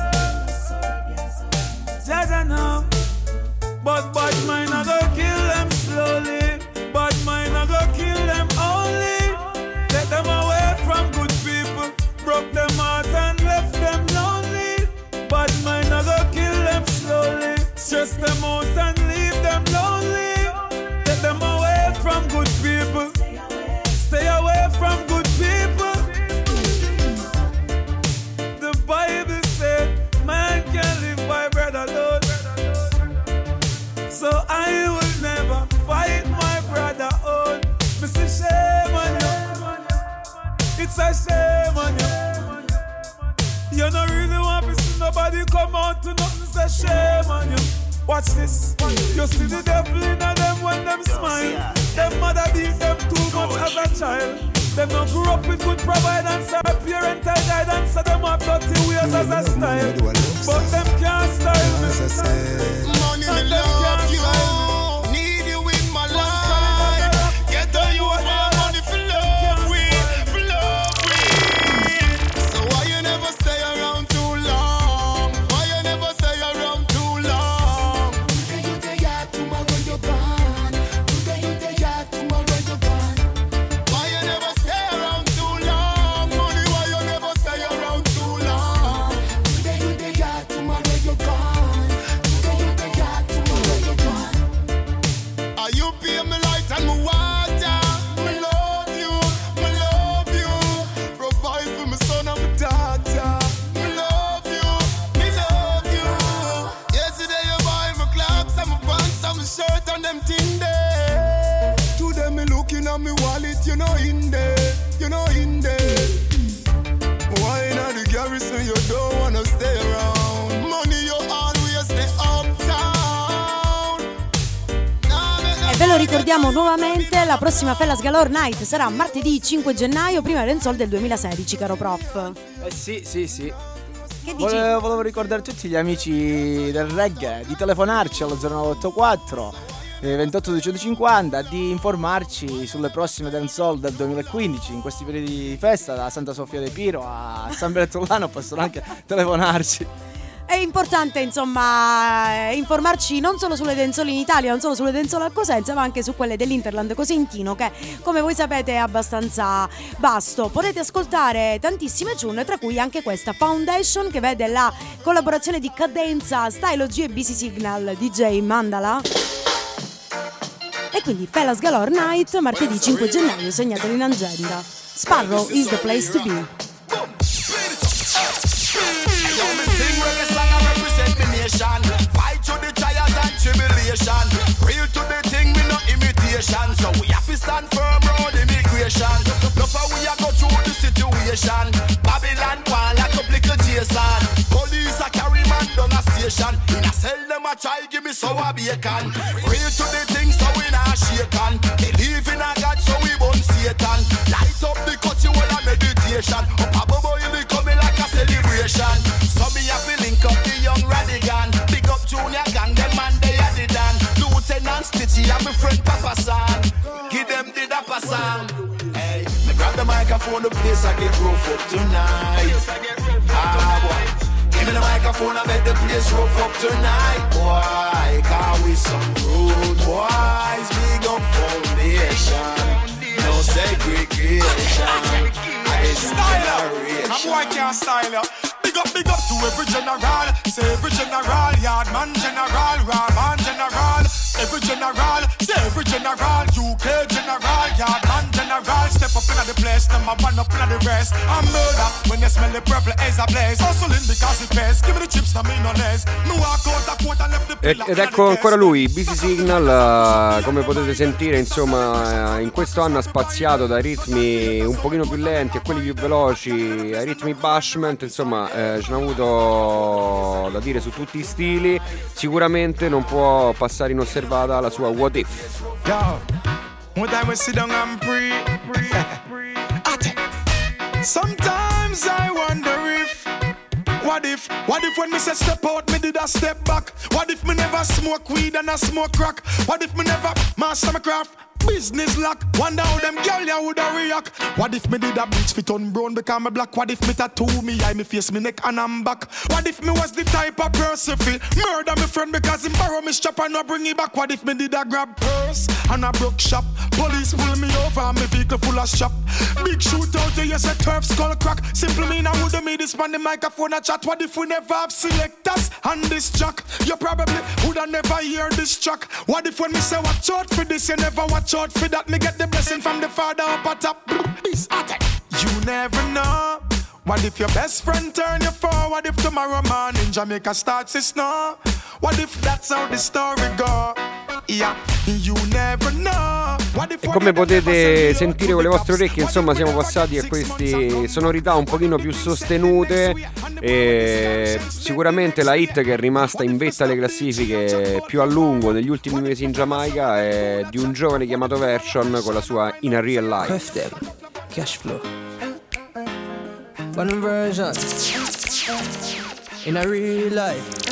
Jaja know. But bad mind I go kill them slowly. Bad mind I go kill them only. Take them away from good people. Broke them heart and left them lonely. Bad mind I go kill them slowly. Stress them out and leave them lonely. Take them away from good people. Stay away from good people. The Bible said man can't live by bread alone. So I will never fight my brother on. It's a shame on you. It's a shame on you. You don't really want to see nobody come out to nothing. It's a shame on you. Watch this. You see the devil in them when them smile. Them mother beat them too much as a child. Them not grew up with good providence or parental guidance, so them have dirty ways as a style. But them can't style me. Money me love you, need you in my life. Get the you want money for love with, for love with. So why you never stay around too long? Why you never stay around too long? Today you day out, tomorrow you're gone. Today you day out, tomorrow you're gone. Why you never stay around too long? Money, why you never stay around too long? Today you day out, tomorrow you're gone. Today you day out, tomorrow you're gone. Are you pay me light and me water? Me love you, me love you. Provide for my son and my daughter. Me love you, me love you. Yesterday you buy my clocks and my pants and my shirt and them thing there. Today me looking at me wallet, you know in there, you know in there. Why not the garrison you don't wanna stay around? Money you always stay uptown. E ve lo ricordiamo nuovamente, la prossima Fellas Galore Night sarà martedì cinque gennaio, prima Dancehall del duemilasedici, caro prof. Eh sì, sì, sì. Che dici? Volevo, volevo ricordare a tutti gli amici del reggae di telefonarci allo zero nove otto quattro eh, ventotto duecentocinquanta, di informarci sulle prossime Dancehall del duemilaquindici. In questi periodi di festa, da Santa Sofia de Piro a San Bertolano, possono anche telefonarci. È importante, insomma, eh, informarci non solo sulle dancehall in Italia, non solo sulle dancehall a Cosenza, ma anche su quelle dell'Interland cosentino, che come voi sapete è abbastanza vasto. Potete ascoltare tantissime tune, tra cui anche questa Foundation, che vede la collaborazione di Cadenza, Stylo G e B C Signal, D J Mandala. E quindi Fellas Galore Night, martedì cinque gennaio, segnatelo in agenda. Sparrow is the place to be. Fight to the trials and tribulation. Real to the thing, we no imitation. So we have to stand firm round immigration. Look how we are go through the situation. Babylon one like a little Jason. try give me sour bacon. Real to the things so we not shaken. Believe in a God so we won't Satan. Light up the cut you all a meditation. Up above you be coming like a celebration. So me have to link up the young Radigan. Big up Junior Gang, them man they are the dan. Lieutenant Stitchy and my friend Papa San. Give them the dapper song. Hey, me grab the microphone, the place I get rough up tonight. Ah boy, give me the microphone, I make the place rough up tonight. Boy, cause we some rude boys. Big up foundation, no segregation. Style up, I'm white can't style ya. Big up, big up to every general. Say every general, Yardman general, Rahman general. Every general, say every general. U K general, Yardman general. Step up in the place, number one up in the rest. I'm murder when you smell the purple as a blaze. Hustling because it pays. Give me the chips, no me no less. Me walk out the court and left the pillar. Ed ecco ancora lui, Busy Signal, uh, come potete sentire, insomma, in questo anno ha spaziato dai ritmi un pochino più lenti a quelli più veloci, ai ritmi bashment, insomma, eh, ce n'ha avuto da dire su tutti i stili. Sicuramente non può passare inosservata la sua What If. Yo, one time we sit down and pray. Sometimes I wonder if What if, what if when me say step out, me did a step back? What if me never smoke weed and I smoke crack? What if me never master my craft? Business lock, wonder how them girl ya woulda react. What if me did a bleach fit on brown because me black? What if me tattoo me eye, me face, me neck and I'm back? What if me was the type of person fi murder me friend because him borrow me strap and no bring it back? What if me did a grab purse and a broke shop? Police pull me over and me vehicle full of shop. Big shootout, you say turf skull crack. Simple mean I woulda made this man the microphone a chat. What if we never have selectors on this track? You probably woulda never hear this track. What if when me say watch out for this, you never watch out for that? Me get the blessing from the Father up at top. You never know. What if your best friend turn you forward? If tomorrow morning Jamaica starts to snow? What if that's how the story go? Yeah, you never know. E come potete sentire con le vostre orecchie, insomma, siamo passati a queste sonorità un pochino più sostenute. E sicuramente la hit che è rimasta in vetta alle classifiche più a lungo negli ultimi mesi in Giamaica è di un giovane chiamato Version con la sua In a Real Life. Cash flow. One version. In a real life.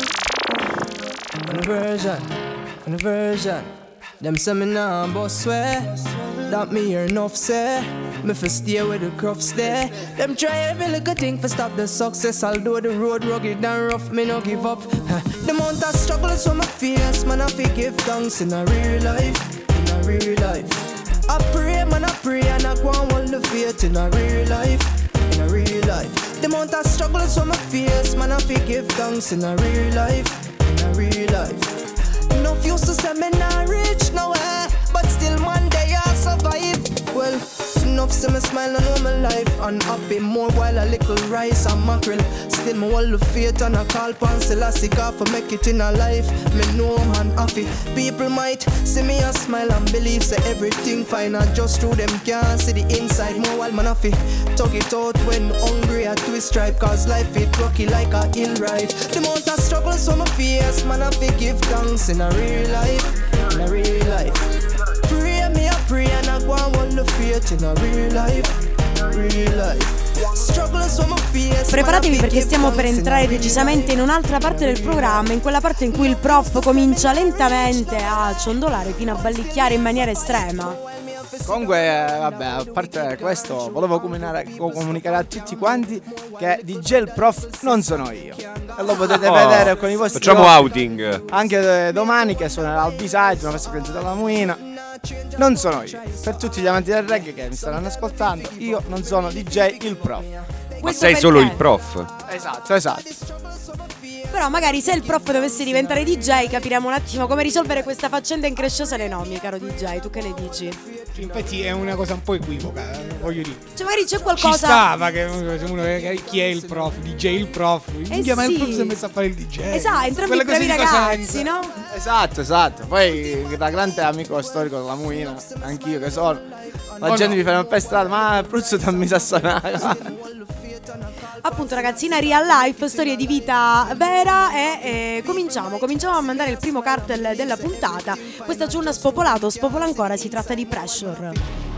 One version. One version. Them say me nah boss swear. That me hear enough say. Me fi stay with the crofts there. Them try every little thing for stop the success. Although the road rugged and rough, me no give up. The amount of struggles from my face, man I fi give thanks in a real life. In a real life. I pray, man I pray and I go and hold the faith in a real life. In a real life. The amount of struggles from my face, man I fi give thanks in a real life. In a real life. Enough used to say me not rich nowhere, but still one day I survive. Well, enough say me smile and know my life unhappy more while a little rice and mackerel. Still me hold the faith and I call pan Selassie God for make it in a life. Me know man happy. People might see me and smile and believe say everything fine and just through them can't see the inside more while man happy. Talk it out when hungry I twist stripe cause life it rocky like a hill ride. The amount of struggles from my face man I fi give thanks in a real life. In a real life. Pray me I pray and I go and hold the faith in a real life. Real life. Preparatevi perché stiamo per entrare decisamente in un'altra parte del programma, in quella parte in cui il prof comincia lentamente a ciondolare fino a ballicchiare in maniera estrema. Comunque, vabbè, a parte questo, volevo comunicare, comunicare a tutti quanti che D J il prof non sono io. E lo potete oh, vedere con i vostri facciamo occhi. Outing. Anche domani che suonerà al B-side, una festa organizzata dalla Muina. Non sono io. Per tutti gli amanti del reggae che mi stanno ascoltando, io non sono D J il prof. Ma sei solo il prof. Esatto, esatto. Però magari se il prof dovesse diventare D J capiremo un attimo come risolvere questa faccenda incresciosa nei nomi, caro D J, tu che ne dici? Infatti è una cosa un po' equivoca, voglio dire. Cioè magari c'è qualcosa. Ci stava che uno, chi è il prof? D J il prof. Eh sì. Ma il prof si è messo a fare il D J. Esatto, entrambi i bravi ragazzi, no? Esatto, esatto. Poi da grande amico storico della Muina, anch'io che sono. La oh gente no. mi fa per strada, ma Pruzzo dammi a suonare. appunto ragazzina real life, storie di vita vera e eh, cominciamo, cominciamo a mandare il primo cartel della puntata. Questa giornata spopolato, spopola ancora, si tratta di Pressure.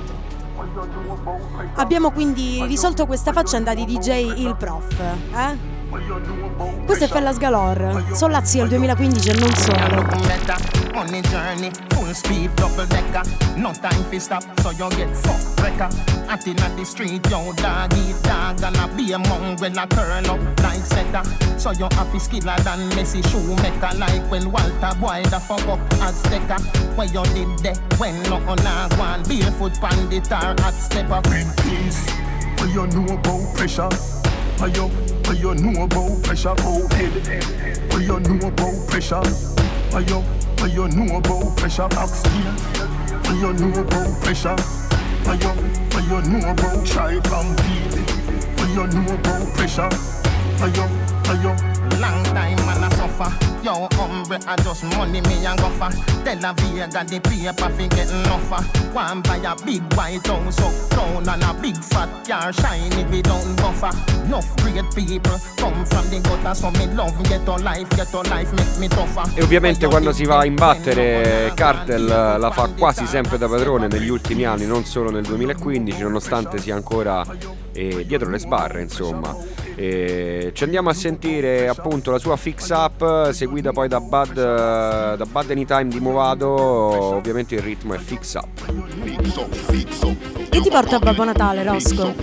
Abbiamo quindi risolto questa faccenda di D J Il Prof, eh? Questo è Fellas Galore, Sollazzi del duemilaquindici e non solo. On the journey, full speed, double decker. No time for stop, so you get fucked wrecker. Acting at the street, yo, dog eat dog. Gonna be among when I turn up like setter. So you have to skiller than Messi shoemaker. Like when Walter Boy the fuck up Azteca. When you did that, when no on a one barefoot pandit or hot stepper. Please, what you know about pressure? What you, what you know about pressure? Oh head, what you know about pressure? What you, what you know about pressure? Backsteel, what you know about pressure? What you, what you know about try compete? What you know about pressure? What you, what you? Long time man I suffer. Yo, hombre, I just money me and go for. Tell a Vega the paper fi getting offer. One buy a big white house uptown and a big fat car shiny we don't buffer. Enough great people come from the gutter, so me love get a life, get a life make me tougher. E ovviamente quando si va a imbattere, Cartel la fa quasi sempre da padrone negli ultimi anni, non solo nel duemilaquindici, nonostante sia ancora eh, dietro le sbarre, insomma. E ci andiamo a sentire appunto la sua Fix Up, seguita poi da Bad, da Bad Anytime di Movado. Ovviamente il ritmo è Fix Up. Che ti porta a Babbo Natale, Rosco?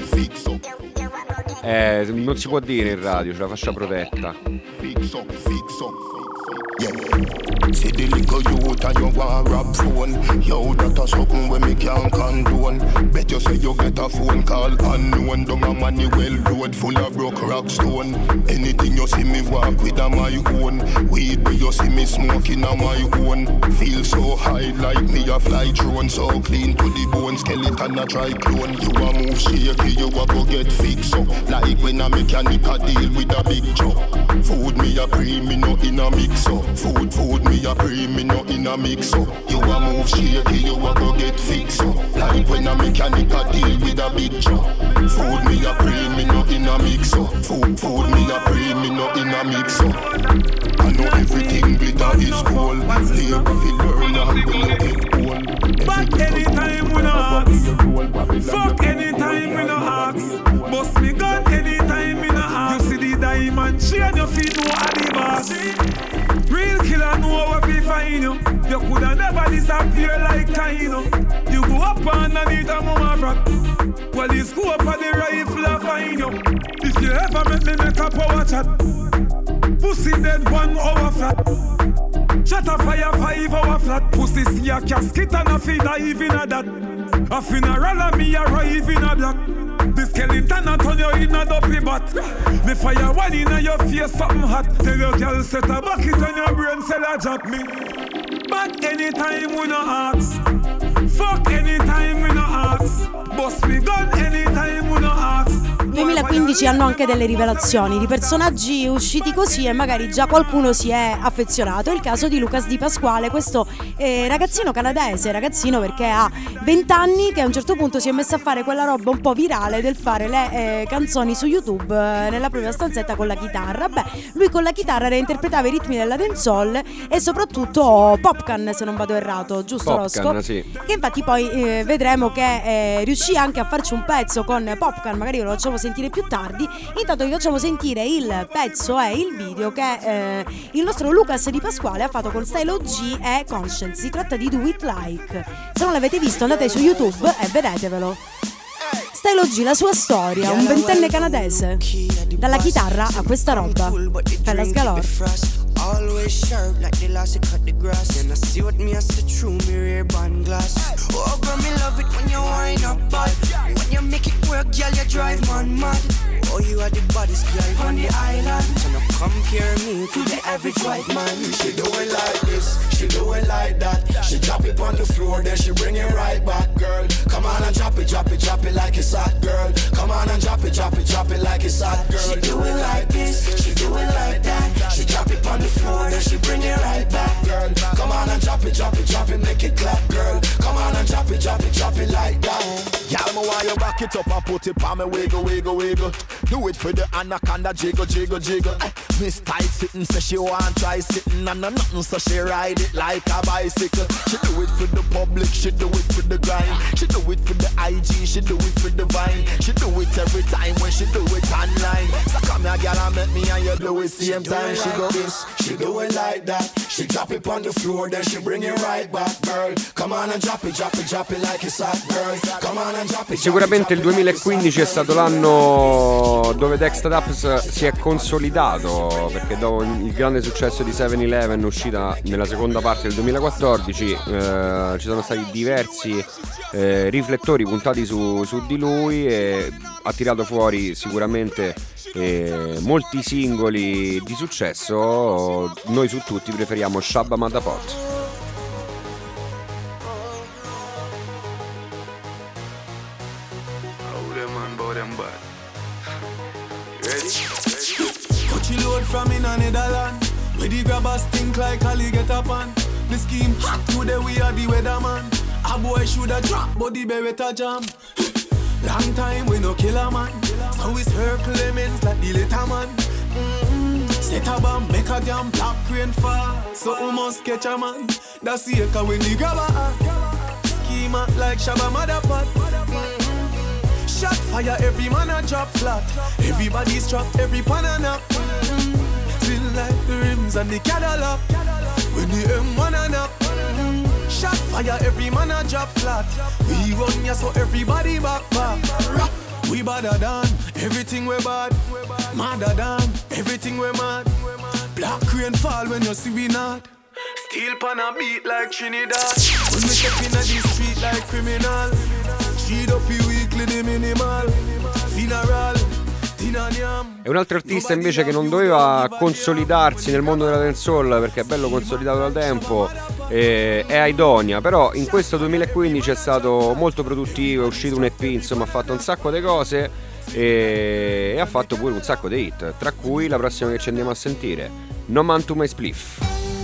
Eh, non si può dire in radio, c'è la fascia protetta. See the little youth and you want rap phone. Yo, that a something when me can't condone. Bet you say you get a phone call unknown. Down a money well road full of broke rock stone. Anything you see me walk with a my own. Weed where you see me smoking a my own. Feel so high like me a fly drone. So clean to the bone, skeleton a try clone. You a move shaky, you a go get fixed up. Like when a mechanic a deal with a big job. Food me a pre, me no in a mix up. Food, food me a pre, me no in a mix up. You a move shaky, you a go get fixed up. Like when a mechanic a deal with a big job. Food me a pre, me no in a mix up. Food, food me a pre, me no in a mix up. I know everything glitter is gold. Labor fi learn and we no get old. But anytime we no ask, fuck anytime we no ask. Bust me gun anytime we no ask. You see the diamond chain, you feel no adibas. Real killer know what we find you. You coulda never disappear like Kaino. You go up underneath a mama rock. Well, the scope of the rifle a find you. If you ever make me make a power chat, pussy dead one hour flat. Shut a fire five hour flat. Pussy see a casket and a feed dive in a that. A funeral and me arrive in a black. The skeleton a turn you in a dopey bat. Me fire one in a your face something hot. Tell your girl set a bucket on your brain cell a jack me. But anytime we no ask, fuck anytime we no ask. Bust me gun anytime we no ask. duemilaquindici hanno anche delle rivelazioni di personaggi usciti così e magari già qualcuno si è affezionato. È il caso di Lucas Di Pasquale, questo eh, ragazzino canadese, ragazzino perché ha venti anni, che a un certo punto si è messo a fare quella roba un po' virale del fare le eh, canzoni su YouTube eh, nella propria stanzetta con la chitarra. Beh, lui con la chitarra reinterpretava i ritmi della dancehall e soprattutto Popcan, se non vado errato, giusto Popcan, Rosco? sì. Che infatti poi eh, vedremo che eh, riuscì anche a farci un pezzo con Popcan, magari ve lo facciamo sentire più tardi. Intanto vi facciamo sentire il pezzo e il video che eh, il nostro Lucas Di Pasquale ha fatto con Style O G e Conscience. Si tratta di Do It Like. Se non l'avete visto andate su YouTube e vedetevelo. Style O G, la sua storia, un ventenne canadese, dalla chitarra a questa roba. Fellas Galore. Always sharp like the last you cut the grass. And I see what me I see through me rear band glass. Oh girl, me love it when you wind up bad. When you make it work, girl, you drive man mad. Oh, you are the baddest girl on the island. So now compare me to the average white man. She do it like this, she do it like that. She drop it on the floor, then she bring it right back, girl. Come on and drop it, drop it, drop it like it's hot, girl. Come on and drop it, drop it, drop it like it's hot, girl. She do it like this, she do it like that. She drop it on the floor, then she bring it right back, girl. Come on and drop it, drop it, drop it, make it clap, girl. Come on and drop it, drop it, drop it like that. Y'all, me want you back it up and put it on me, wiggle, wiggle, wiggle. Do it for the anaconda, jiggle, jiggle, jiggle. Eh, Miss Tight sitting, say she want try sitting and no nothing, so she ride it like a bicycle. She do it for the public, she do it for the grind. She do it for the I G, she do it for the Vine. She do it every time when she do it online. So come here, girl, and make me and you do it same time. She go this, she do it like that. She drop it on the floor, then she bring it right back, girl. Come on and drop it, drop it, drop it like it's hot, girl. Come on and drop it. Sicuramente il duemilaquindici è stato l'anno dove Dexta Daps si è consolidato, perché dopo il grande successo di seven eleven uscita nella seconda parte del duemilaquattordici eh, ci sono stati diversi eh, riflettori puntati su, su di lui e ha tirato fuori sicuramente eh, molti singoli di successo. Noi su tutti preferiamo Shabba Madapot. She load from in a Netherland, where the grabbers think like Ali get up on. The scheme hot today, we are the weatherman. A boy shoulda drop, but the beretta jam. Long time we no kill a man, so we circle lemons like the little man. Mm-hmm. Set a bomb, make a damn black rain fall, so we must catch a man. That's the echo when the grabber scheme out like Shabba Madapot. Mm-hmm. Shot fire, every man a drop flat. Everybody's trapped, every pan a nap. Still like the rims and the Cadillac when the M one a nap. Shot fire, every man a drop flat. We run ya so everybody back back. We badder than everything we bad. Madder than everything we mad. Black rain fall when you see we not. Steel pan a beat like Trinidad. When we step in the street like criminal. Street up the weekly the minimal. Funeral. È un altro artista invece che non doveva consolidarsi nel mondo della dancehall perché è bello consolidato da tempo, eh, è Aidonia, però in questo duemilaquindici è stato molto produttivo, è uscito un E P, insomma ha fatto un sacco di cose e, e ha fatto pure un sacco di hit, tra cui la prossima che ci andiamo a sentire, No Man to My Spliff.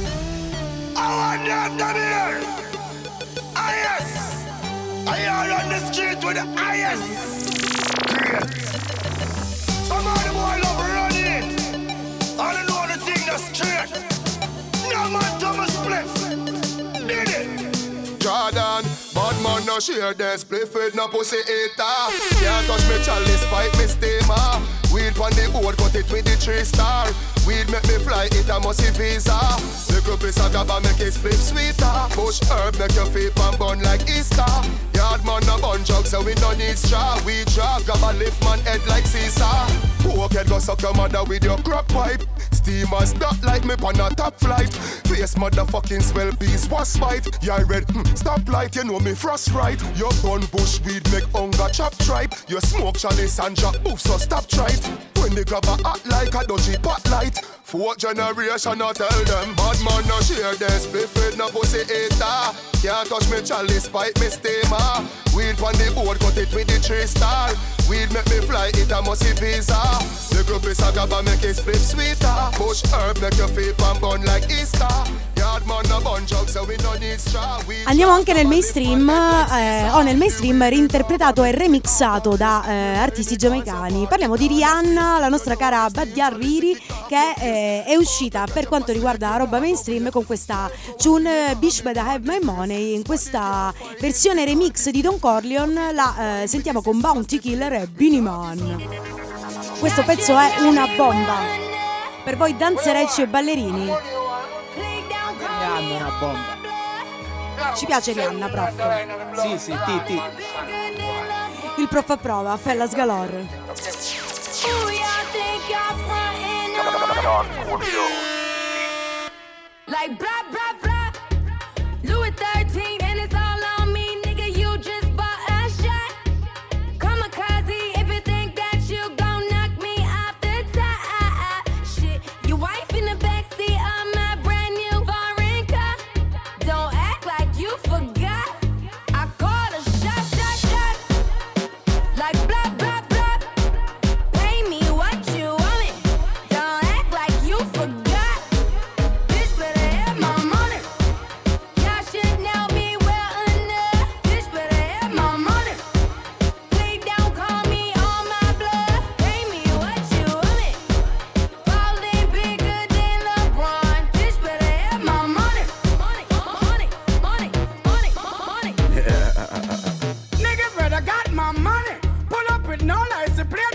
Some of the boy love running. I don't know the thing that's straight. No man Thomas Spliff. Did it? Jordan, bad man no share the spliff with no pussy eater. Can't touch me chalice, fight me steamer. Weed on the board, cut it with the three star. Weed make me fly, it a musty visa. Little piece of gaba make it spliff sweeter. Bush herb make your feet and bun like Easter. Yard man a bun jug so we no need straw. We draw, gaba lift man head like Caesar. Poke head go suck your mother with your crack pipe. Steamers not like me on a top flight. Face motherfucking swell piece was fight. Yeah red, hm, stop light, you know me frost right. Your gun bush weed make hunger chop tripe. You smoke chalice and jack boof so stop tripe. When the grabber act like a dodgy pot light. Fourth generation I tell them bad man no share them spliff with no pussy eater. Can't touch me chalice pipe me steamer. Weed on the board cut it with the three star. Weed make me fly it a musty visa. The group is a gaba make it spliff sweeter. Bush herb make your feet and bun like Easter. Yard man no bun jug so we no need straw. Andiamo anche nel mainstream, eh, o nel mainstream reinterpretato e remixato da eh, artisti giamaicani. Parliamo di Rihanna, la nostra cara Badia Riri, che eh, è uscita per quanto riguarda la roba mainstream con questa tune Bish Better Have My Money. In questa versione remix di Don Corleone la eh, sentiamo con Bounty Killer e Beenie Man. Questo pezzo è una bomba per voi danzerecci e ballerini. Rihanna è una bomba. Ci piace Rihanna, prof? Sì, sì, ti, ti. Il prof approva, Fellas Galore. Like blah blah blah, Louis thirteen and it's all on me, nigga. You just bought a shot. Kamikaze, if you think that you gon' knock me off the top, shit. Your wife in the backseat of my brand new foreign car. Don't act like you forgot. I call a shot, shot, shot. Like blah blah blah. Pay me what you want it. Don't act like you forgot. Bitch better have my money.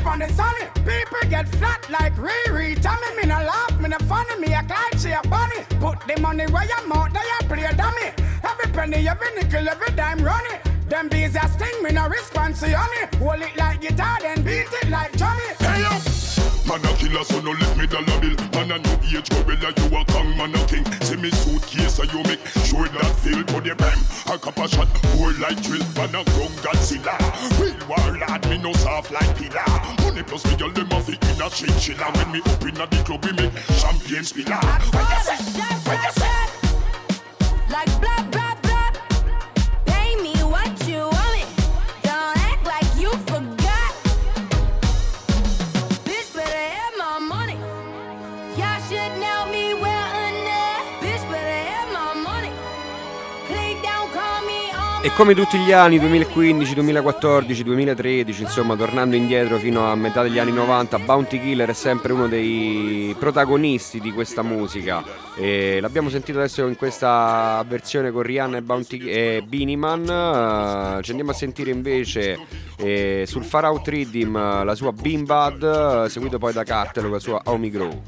on the sunny. People get flat like Riri. Tell me me no laugh, me no funny. Me a climb, she a bunny. Put the money where you mouth, they a play a dummy. Every penny, every nickel, every dime running. Them bees a sting, me no response to honey. Hold it like guitar, then beat it like Johnny. Hey up! Man a killer, so no let me dollar bill. Man a new age gorilla, you a kong, man a king. See me suitcase, so you make sure that feel to the bang. A couple shot, more like drill, man a grown Godzilla. Real warlord, me no soft like pillar. Money plus me, y'all them a fi in a chinchilla. When me up in a the club, we make champagne spiller. What you say? What you say? Like blah blah blah. Pay me what you want me. Don't act like you forgot. Bitch better have my money. Y'all should know me well enough. Bitch better have my money. Click down, call me on. E come tutti gli anni duemilaquindici, duemilaquattordici, duemilatredici, insomma tornando indietro fino a metà degli anni novanta, Bounty Killer è sempre uno dei protagonisti di questa musica. E l'abbiamo sentito adesso in questa versione con Rihanna e, Bounty, e Beenie Man. Uh, ci andiamo a sentire invece eh, sul Far Out Rhythm la sua Bean Bad, uh, seguito poi da Cartel con la sua Homie Grow.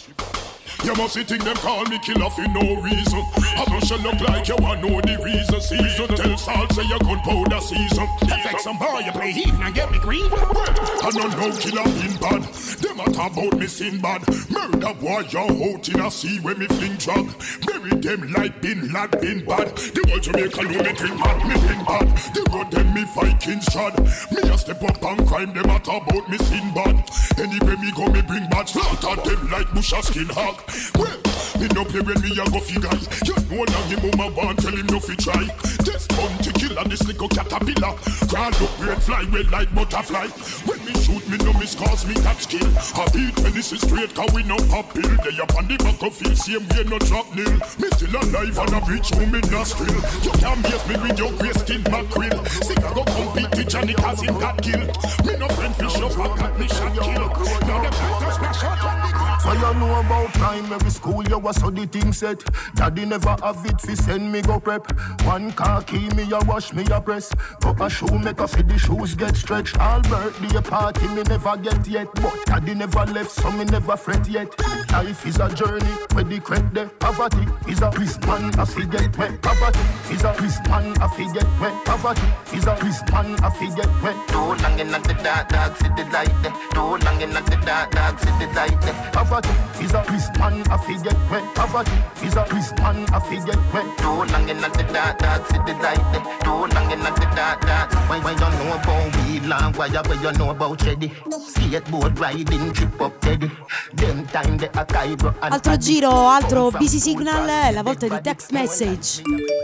You must see think them call me killer for no reason. I don't shall look like you want know the reason. Season tell Salt say you gunpowder season. Affect some boy you play heave and get me green. I don't know killer been bad. Them a talk about me sin bad. Murder boy you out in a sea when me fling drug. Bury them like bin lad bin bad. The whole Jamaica know me think bad, me think bad. The road them me Vikings trod. Me a step up and crime them a talk about me sin bad. Anyway me go me bring bad. Slaughter them like bush a skin hog. Well, me no play when me a go fi guy. You know now him mama want tell him no fi try. This bounty killer, this little caterpillar. Crawl up red fly well like butterfly. When me shoot me no miss cause me catch kill. I beat when this is straight cause we no pop pill. They up on the back of field same way no drop nil. Me still alive and a reach home in nostril. You can't miss me with your grey skin mackerel. See I go compete with Johnny cause him got kill. Me no friend fish up I got me shot kill. Now the cactus smash out on the ground. So you know about primary school, you was so the thing set. Daddy never have it fi send me go prep. One car key me a wash me a press. Go a shoe make a fi the shoes get stretched. All birthday party me never get yet. But daddy never left so me never fret yet. Life is a journey where the credit there. Poverty is a prison man a fi get wet. Poverty is a prison man a fi get wet. Poverty is a prison man a fi get wet. Too long in the dark, dark city light there. Too long in the dark, dark city light there. Poverty is a prison man a fi get wet. Poverty is a prison man a fi get wet. Too long in the dark, dark city light there. Too long in the dark, dark. When when you know about weed long, why you when you know about Cheddy? Skateboard riding, trip up Teddy. Them time the Akaibo. Altro giro, altro busy signal, è la volta di text message.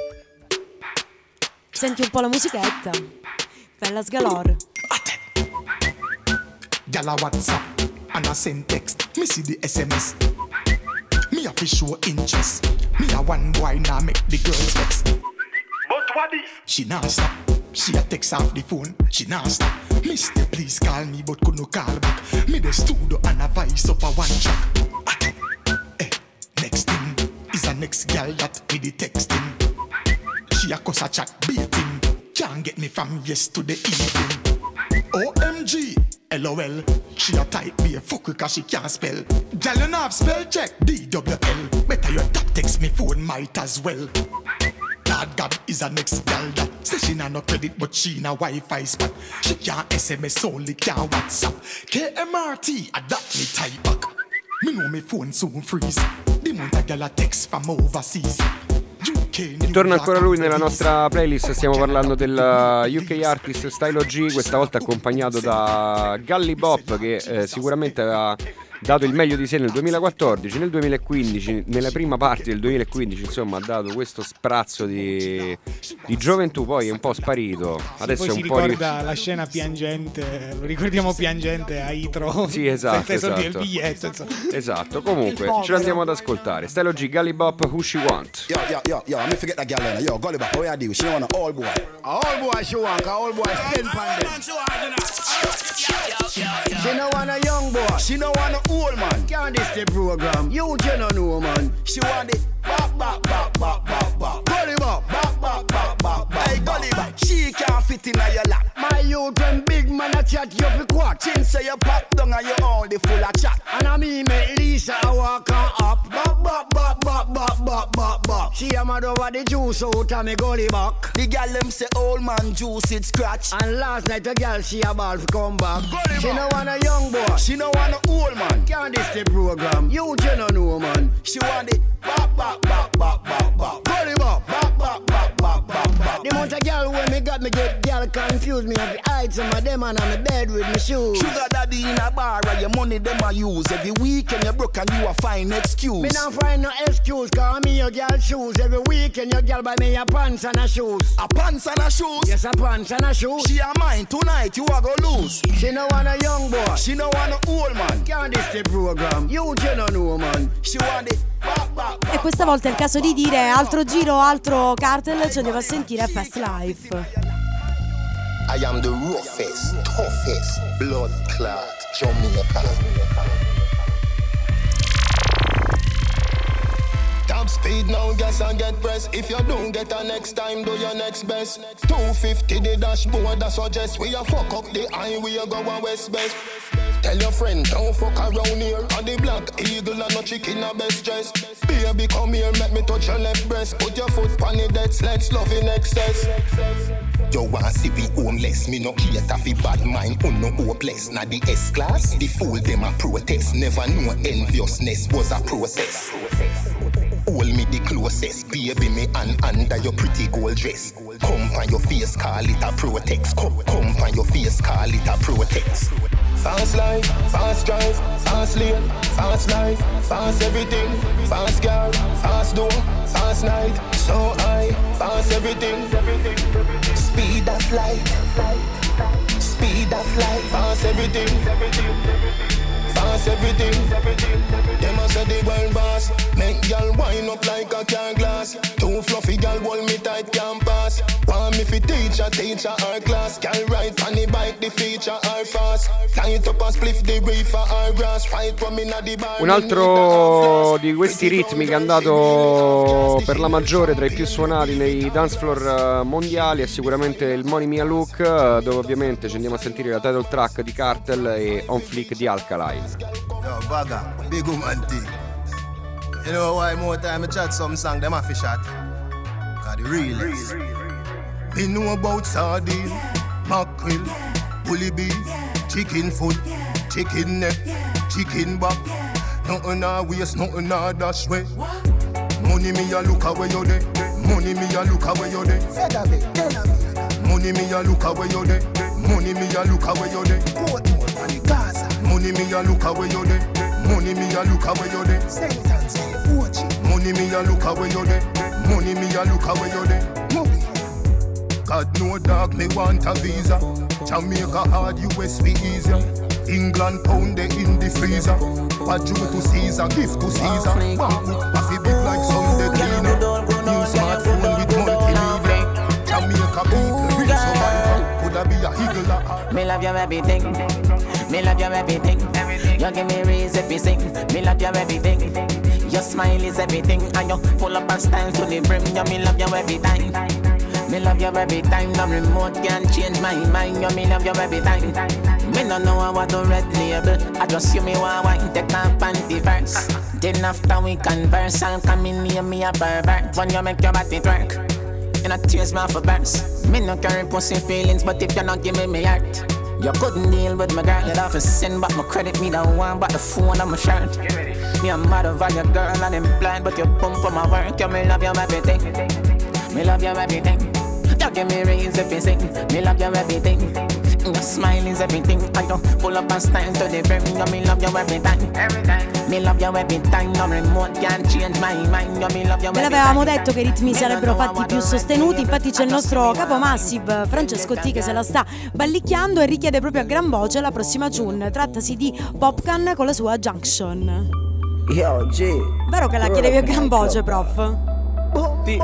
Senti un po' la musichetta. Fellas galore. Gala WhatsApp and I send text. Me see the S M S. Me have to show interest. Me a one boy now make the girls vex. But what is? She now stop. She a text off the phone. She now stop. Mister please call me but could no call back. Me the studio and a voice up a one track. Eh, next thing is a next girl that with the texting. She a cuss a chat beating. Can't get me from yes to the evening. O M G, L O L. She a type be a fuck cause she can't spell. Girl you know have spell check D W L. Better your tap text me phone might as well. Lord God is a next girl that say she na no credit but she na Wi-Fi spot. She can't S M S only can't WhatsApp. K M R T adapt me type back. Me know me phone soon freeze. The month a girl a text from overseas. E torna ancora lui nella nostra playlist. Stiamo parlando del U K artist Stylo G, questa volta accompagnato da Gully Bop, che eh, sicuramente aveva dato il meglio di sé nel duemilaquattordici, nel duemilaquindici, nella prima parte del duemilaquindici, insomma ha dato questo sprazzo di, di gioventù, poi è un po' sparito. Adesso poi è un si po' ricorda ri... la scena piangente, lo ricordiamo piangente a Itro. Sì, esatto, senza i soldi esatto. del biglietto, insomma. Esatto, comunque ce l'andiamo ad ascoltare. Stylo G, Gully Bop, Who She Want. Yo, yo, yo, yo, let me forget that girl then. Yo, Gully Bop, what you do? She want an old boy. A old boy she want, a old boy spin pan them. She no want a young boy, she no want a old man. Can't this the program? You you no know man. She want it bop bop bop bop bop bop. Gully Bop, bop bop bop bop bop. Hey Gully Bop, she can't fit in your lap. My youth when big man a chat you fi quat. Chin say you pop down and you only full of chat. And a me make Lisa a walk on up. Bop bop bop bop bop bop bop bop. She a mad over the juice out of me gully back. The gal them say old man juice it scratch. And last night a gal she a ball fi come back. Gully she no want a young boy. She no want a old man. Can't this the program. You you no know man. She want it bop bop bop bop bop bop. Gully bop bop bop bop bop bop bop. The amount of gal when me got me get gal confused. Me have to hide some of them and I'm in bed with me shoes. Sugar daddy in a bar and your money them a use. Every weekend you broke and you a find excuse. Me not find no excuse cause me your gal shoes. Every weekend your gal buy me a pants and a shoes. A pants and a shoes? Yes, a pants and a shoes. She a mine tonight, you a go lose. She no want a young boy. She no want a old man. Can't this the program. You you no know man. She want it. E questa volta è il caso di dire altro giro, altro cartel, ci andiamo a sentire Fast Life. I am the roughest, toughest, blood clot Jamaica. Top speed now, gas and get press. If you don't get a next time, do your next best. two fifty the dashboard, that suggest we a fuck up the highway, go a west best. Tell your friend, don't fuck around here. On the black eagle and no chicken a best dress. Baby, come here, make me touch your left breast. Put your foot on the dead, let's love in excess. You want see we homeless, me no cater fi bad mind, un no hopeless. Na the S-class, the fool them a protest. Never know enviousness was a process. Hold me the closest, baby, me and under your pretty gold dress. Come on your face, call it a protex. Come, come on your face, call it a protex. Fast life, fast drive, fast lane, fast life, fast everything, fast girl, fast door, fast night, so high, fast everything, speed of light, speed of light, fast everything, fast everything. Them a say the world boss, make y'all wind up like a car glass. Too fluffy y'all hold me tight, can't pass. Want me fi teacher, teacher our class. Can ride on the bike, the feature are fast. Light up and spliff the reefer our grass. Fight from inna the bar. Un altro di questi ritmi che è andato per la maggiore tra i più suonati nei dance floor mondiali è sicuramente il Money Mia Look, dove ovviamente ci andiamo a sentire la title track di Cartel e On Fleek di Alkaline. Yo, Bagga, big woman thing. You know why more time I chat some song them have to shot? Cause the real is. Me know about sardine, mackerel, bully beef, chicken foot, chicken neck, chicken back. Nothing a waste, nothing a dash way. Money me a look away you there. Money me a look away you there. Money me a look away you there. Money me a look away you there. Money me a look away you there. Money me a look away you there. Money me a look away you there. Money me a look away you there. God no dog me want a visa. Jamaica hard, U S be easier. England pound they in the freezer. What due to Caesar, gift to Caesar. Coffee big like Sunday cleaner. New smartphone with multimedia. Jamaica people, real survivor. Could I be a eagle? Me love your everything. Me love your everything. You give me reason if you sing. Me love your everything. Your smile is everything, and you full up of style to the brim. You me love you every time. Me love you every time. No remote can change my mind. You me love you every time. Me no know what to red label. I just you me want wine, take my panty first. Then after we converse, I'll come in near me a pervert. When you make your body twerk, you not tears me for burst. Me no carry pussy feelings, but if you not give me me heart. You couldn't deal with my girl, you'd have to send back my credit. Me don't want but the phone on my shirt. Me a mad over your girl and I'm blind, but you pump for my work. You me love you everything. Me love you everything. You give me reason if you sing. Me love you everything. Your smile is everything. I don't pull up and style to the brim. You me love you every time. Me love you every time. No remote can change my mind. You me love you every time. Ve l'avevamo detto che i ritmi sarebbero fatti più sostenuti. Infatti c'è il nostro capo Massive Francesco T che se la sta ballicchiando e richiede proprio a gran voce la prossima tune. Trattasi di Popcan con la sua Junction. Yo, G. Vero che la chiedevi a gran voce, prof? Sì.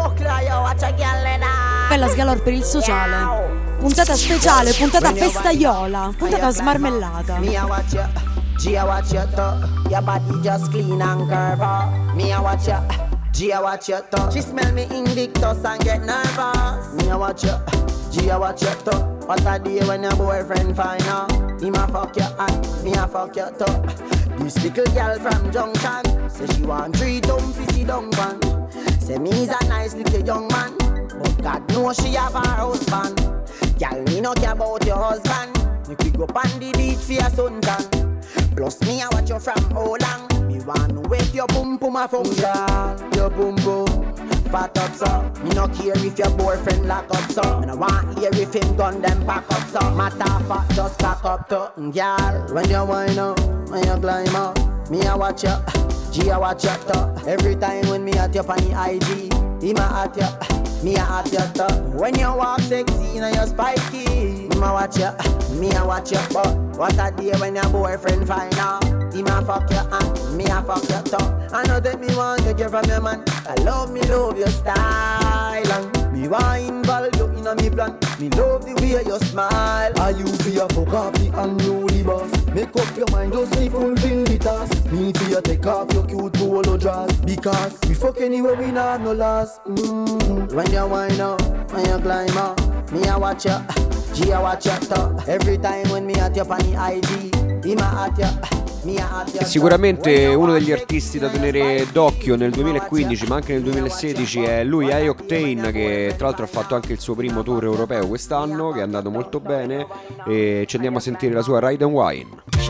Bella sgalor per il sociale. Puntata speciale, puntata festaiola, puntata smarmellata. Me a watch ya, G a watch ya too. Your body just clean and curve. Me a watch ya, G a watch ya too. She smell me Invictus and get nervous. Me a watch ya, Gia watch your toe. What a day when your boyfriend find out. Him a fuck your hand, me a fuck your toe. This little girl from Junction say she want three dumb pissy dung man. Say me's a nice little young man, but God knows she have her husband. Girl, me no care about your husband. You could go on the beach for your suntan. Plus me I watch you from how long. Me want to wake your boom boom a function. Your boom boom fat up so. Me no care if your boyfriend lock up so. Me no want hear if him gun them pack up so. Matter fat just pack up to. Girl, when you wind up, when you climb up, me I watch you, G I watch you to. Every time when me at you on the I G, him a at you, me a at you to. When you walk sexy and you spiky, him a watch you, me a watch you. But what a day when your boyfriend find out. Him a fuck your hand, me a fuck your tongue. I know that me want to get from your man. I love me, love your style. And me want involve you in a me plan. Me love the way you smile. Are you fear for copy and you the boss? Make up your mind, just me fulfill the task. Me fear take off your cute polo dress. Because we fuck anywhere, we not no loss. Mm-hmm. When you wind up, when you climb up, me a watch you, G I watch you top. Every time when me at you on the I G, him a at you. È sicuramente uno degli artisti da tenere d'occhio nel duemilaquindici ma anche nel duemilasedici è lui, I-Octane, che tra l'altro ha fatto anche il suo primo tour europeo quest'anno, che è andato molto bene, e ci andiamo a sentire la sua Ride and Wine.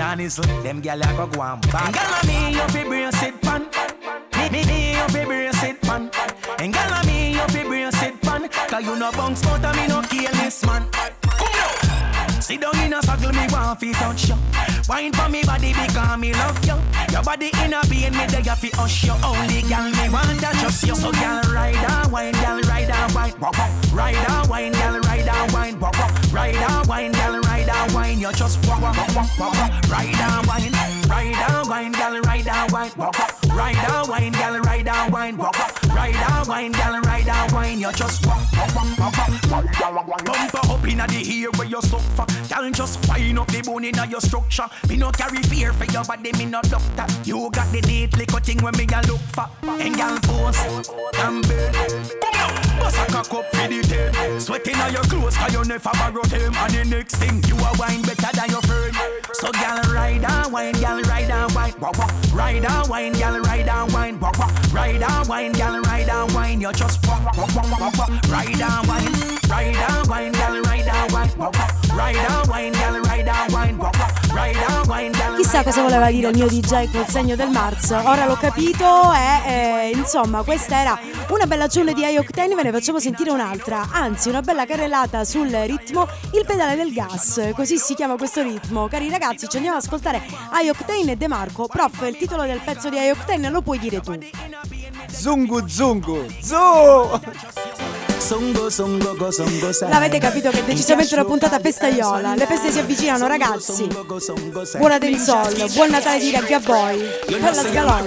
Sit down in a circle, me want fi touch you. Wine for me body because me love you. Your body in a pain, me there fi hush you. Only girl me want to trust you. So girl ride and wine, girl ride and wine, ride and wine, girl ride and wine, ride and wine, girl ride and wine. You just walk, walk, walk, walk, ride and wine, ride and wine, girl ride and wine, ride and wine, girl ride and wine, ride and wine, girl ride and wine. You just walk, walk, walk, walk. Bumper up inna the ear where you suffer. Girl just wind up the bone inna your structure. Me no carry fear for your body, me no doctor. You got the neat little thing when me a look for. And girl pose and burn. Bust a cock up for the tail. Sweating on your clothes 'cause you never borrow them. And the next thing you a wine better than your friend. So girl ride and wine, girl ride and wine, ride and wine, girl ride and wine, ride and wine, girl ride and wine. You just walk, walk, walk, walk, walk. Ride and wine, ride and wine, girl ride and wine, ride and wine, girl ride and wine, ride and wine, girl. Chissà cosa voleva dire il mio D J col segno del Marzo. Ora l'ho capito e eh, insomma questa era una bella giornata di I-Octane. Ve ne facciamo sentire un'altra, anzi una bella carrellata sul ritmo, il pedale del gas, così si chiama questo ritmo. Cari ragazzi, ci andiamo ad ascoltare I-Octane e De Marco. Prof, il titolo del pezzo di I-Octane lo puoi dire tu. Zungu zungu zu. L'avete capito che è decisamente una puntata festaiola. Le feste si avvicinano, ragazzi. Buona dancehall, buon Natale di Reggae Boy. Bella scalone.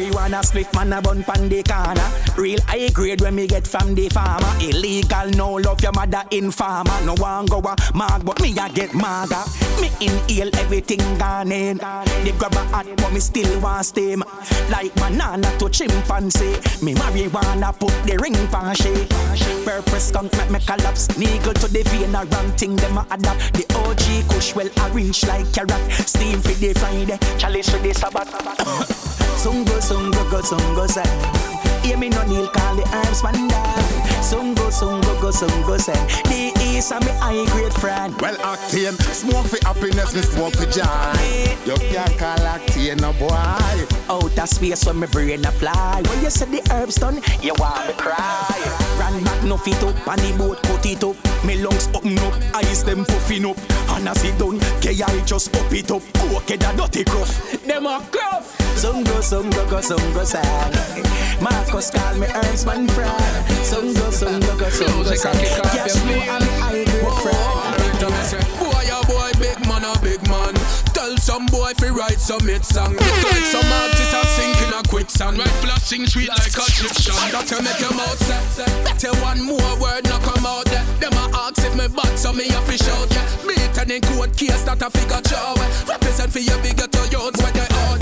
Real high grade when me get from the farmer. Illegal, no love your mother in farmer. No one go a mag, but me a get maga. Me inhale everything gone in. They grab a hat, but me still want steam. Like banana to chimpanzee. Me marijuana put the ring pan shake. Purpose skunk make me collapse. Niggle to the vein a wrong thing them a adapt. The O G kush well arranged like carrot. Steam for the Friday, chalice for the Sabbath. Sungo sungo go sungo say. Hear me no kneel, call the arms man down. Sungo, sungo, go, sungo, say. The East are me high grade friend. Well, Octane, smoke for happiness, me smoke for joy. You can't call Octane no boy. Outer space when me brain a fly. When you say the herbs done, you want me cry. Run back no fit up, and the boat cut it up. Me lungs open up, eyes them puffing up. And as it done, K I just up it up. Okay, that dirty gruff, them a gruff. Sungo, sungo, go, sungo, say. Marcus call me Ernst man friend. Sungo, sungo, go, sungo, say. Cash me and I good friend. Boy, a boy, big man, a big man. Tell some boy fi write some hit song. Like some artists are sinking a quicksand. Write blasting sweet like a Egyptian. That you make your mouth set. Better one more word no come out there. Them a ask if me bad, so me a fish out. Yeah, beat and in court case that a figure show. Represent for your bigger to youths when they out.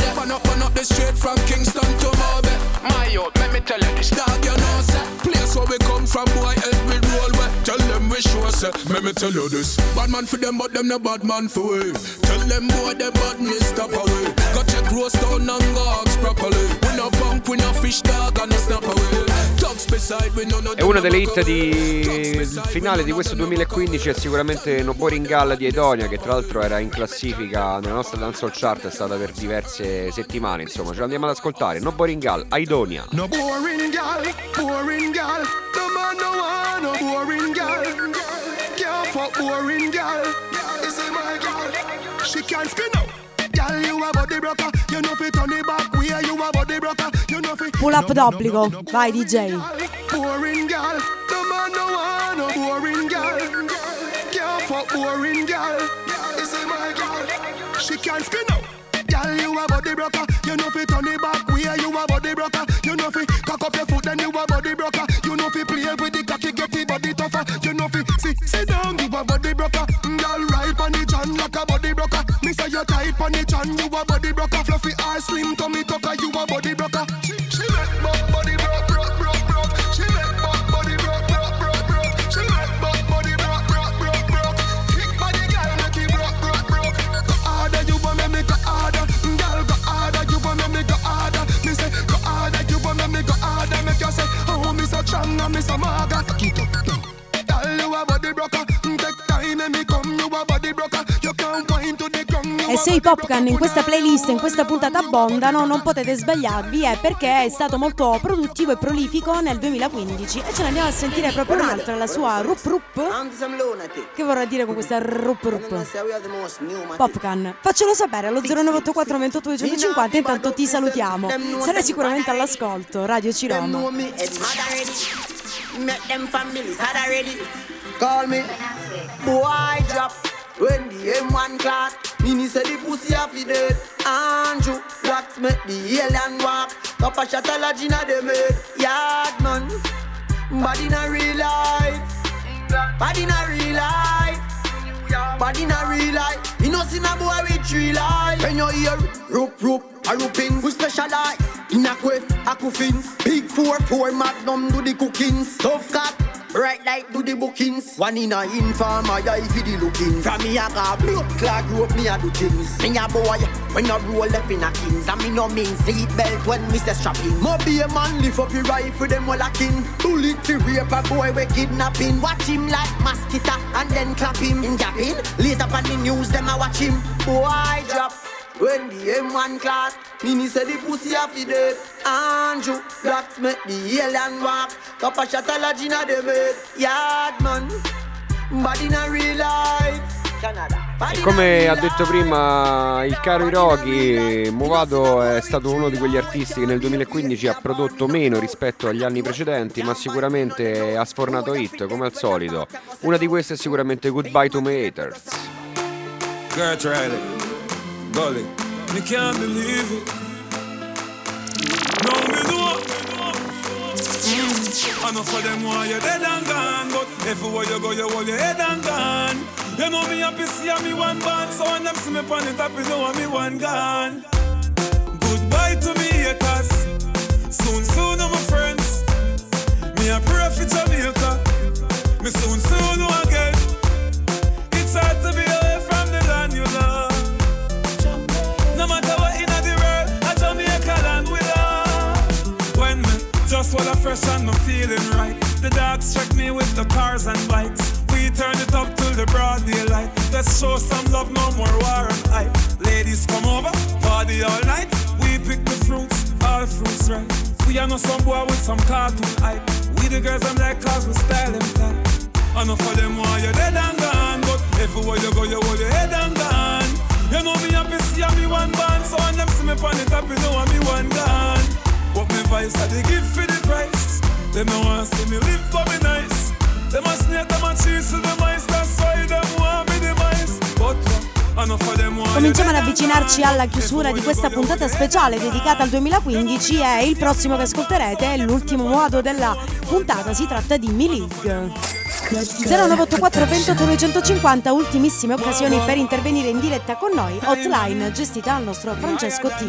Burn up, burn up the street from Kingston to Moby. My youth, let me tell you this. Dog, you know, sir. Place where we come from, boy, every roll way. Tell them we sure, sir. Let me tell you this. Bad man for them, but them no bad man for we. Tell them boy, them bad me stop away. Got check roast down and gogs properly. We no punk, we no fish dog and no snap away. Dogs beside, we no no. E una delle hit di finale di questo duemilaquindici è sicuramente No Boring Gal di Edonia, che tra l'altro era in classifica nella nostra dancehall chart, è stata per diverse settimane, insomma. Ce l'andiamo ad ascoltare. No Boring Gal, Aidonia. No boring gal, boring gal. No man no one, no boring gal. Can't fuck boring gal. This is my gal. She can't spin out. Gal, you a body broker. You know fi turn it back. We are you a body broker. You know fi pull up d'obbligo. Vai D J. Boring gal. No man no one, no boring gal. Can't fuck boring gal. This is my gal. She can't spin out. Gal, you a body broker. You know fi turn it back. We are you a body broker. You know fi cock up your foot, then you a body broker. You know fi play with the cocky, get the body tougher. You know fi sit, sit down, you a body broker. Gal, right on the chan like a body broker. Me say you tight on the chan, you a body broker. Fluffy or slim tummy tucker, you a body broker. She, she make buck body broke, broke, broke, broke. She make buck body broke, broke, broke, broke. She make buck body broke, broke, broke, broke. Kick body gal, make it broke, broke, broke. Go harder, you want me, make go harder. Gal, go harder, you want me, make go harder. Me say go harder, you want me, make go harder. Make you say, oh, me so strong and me so maga. Keep up, gal, you a body broker. Take time and me come, you a body broker. You can't wind to the ground. E se i Popcan in questa playlist, in questa puntata abbondano, non potete sbagliarvi, è perché è stato molto produttivo e prolifico nel duemilaquindici. E ce ne andiamo a sentire proprio un'altra, la sua Rup Rup. Che vorrà dire con questa Rup Rup? Popcan, faccelo sapere allo zero nove otto quattro ventotto duecentocinquanta. Intanto ti salutiamo, sarai sicuramente all'ascolto. Radio Ciroma. Call me boy drop when the M one clock. Mini say the pussy off the dead. Andrew Blacks make the alien walk. Top a shot a lodge inna the made. Yard man, body in a real life. Body in a real life. Body in a real life. You know see a boy with three life. When you hear rope rope a rooping, we specialize in a quiff, a coffins. Big four four magnum do the cookings. Tough cat. Right like do the bookings. One in a inform, I eye for the looking. From me a car blood clot rope, me a do things. Me a boy, when I roll left in a kings. And me no mean seat belt when me say strapping. Mo be a man, lift up your rifle, them all a king. Bullet fi rape a boy we kidnapping. Watch him like mosquito and then clap him. In japping, later on the news, them a watch him. Boy drop. When the M one class, Mini said the pussy off the dead. Andrew Blacks make the alien walk. Top a shot a lodge inna the bed. Yard man, body in a real life. E come ha detto prima il caro Hiroki, Movado è stato uno di quegli artisti che nel duemilaquindici ha prodotto meno rispetto agli anni precedenti, ma sicuramente ha sfornato hit come al solito. Una di queste è sicuramente Goodbye to My Haters. Kurt Riley, Gully, me can't believe it. No me know. I know for them why you're dead and gone, but everywhere you go you hold your head and gone. You know me happy see me one band, so when them see me pan it up, you know me one gone. Goodbye to me haters, soon soon my friends. Me a pray for Jamaica, me soon soon again. It's hard to be away from the land you love. No matter what in the world, a Jamaica land we love. When me just while I'm fresh and I'm feeling right, the dogs check me with the cars and bikes. We turn it up till the broad daylight. Let's show some love, no more war and hype. Ladies come over, party all night. We pick the fruits, all fruits right. We are not some boy with some cartoon hype. We the girls I'm like cause we style them tight. Enough for them while you're dead and gone, but everywhere you go you hold your head and gone. You know me happy see me one band, so when them see me pan it up you know me one gone. But me vice I they give for the price. They no want see me live for me nice. They must snake them and cheese to the mice. That's why them want me the mice. But cominciamo ad avvicinarci alla chiusura di questa puntata speciale dedicata al duemilaquindici e il prossimo che ascolterete è l'ultimo modo della puntata, si tratta di Mi League. zero nove otto quattro ventotto novecentocinquanta, ultimissime occasioni per intervenire in diretta con noi. Hotline gestita dal nostro Francesco T.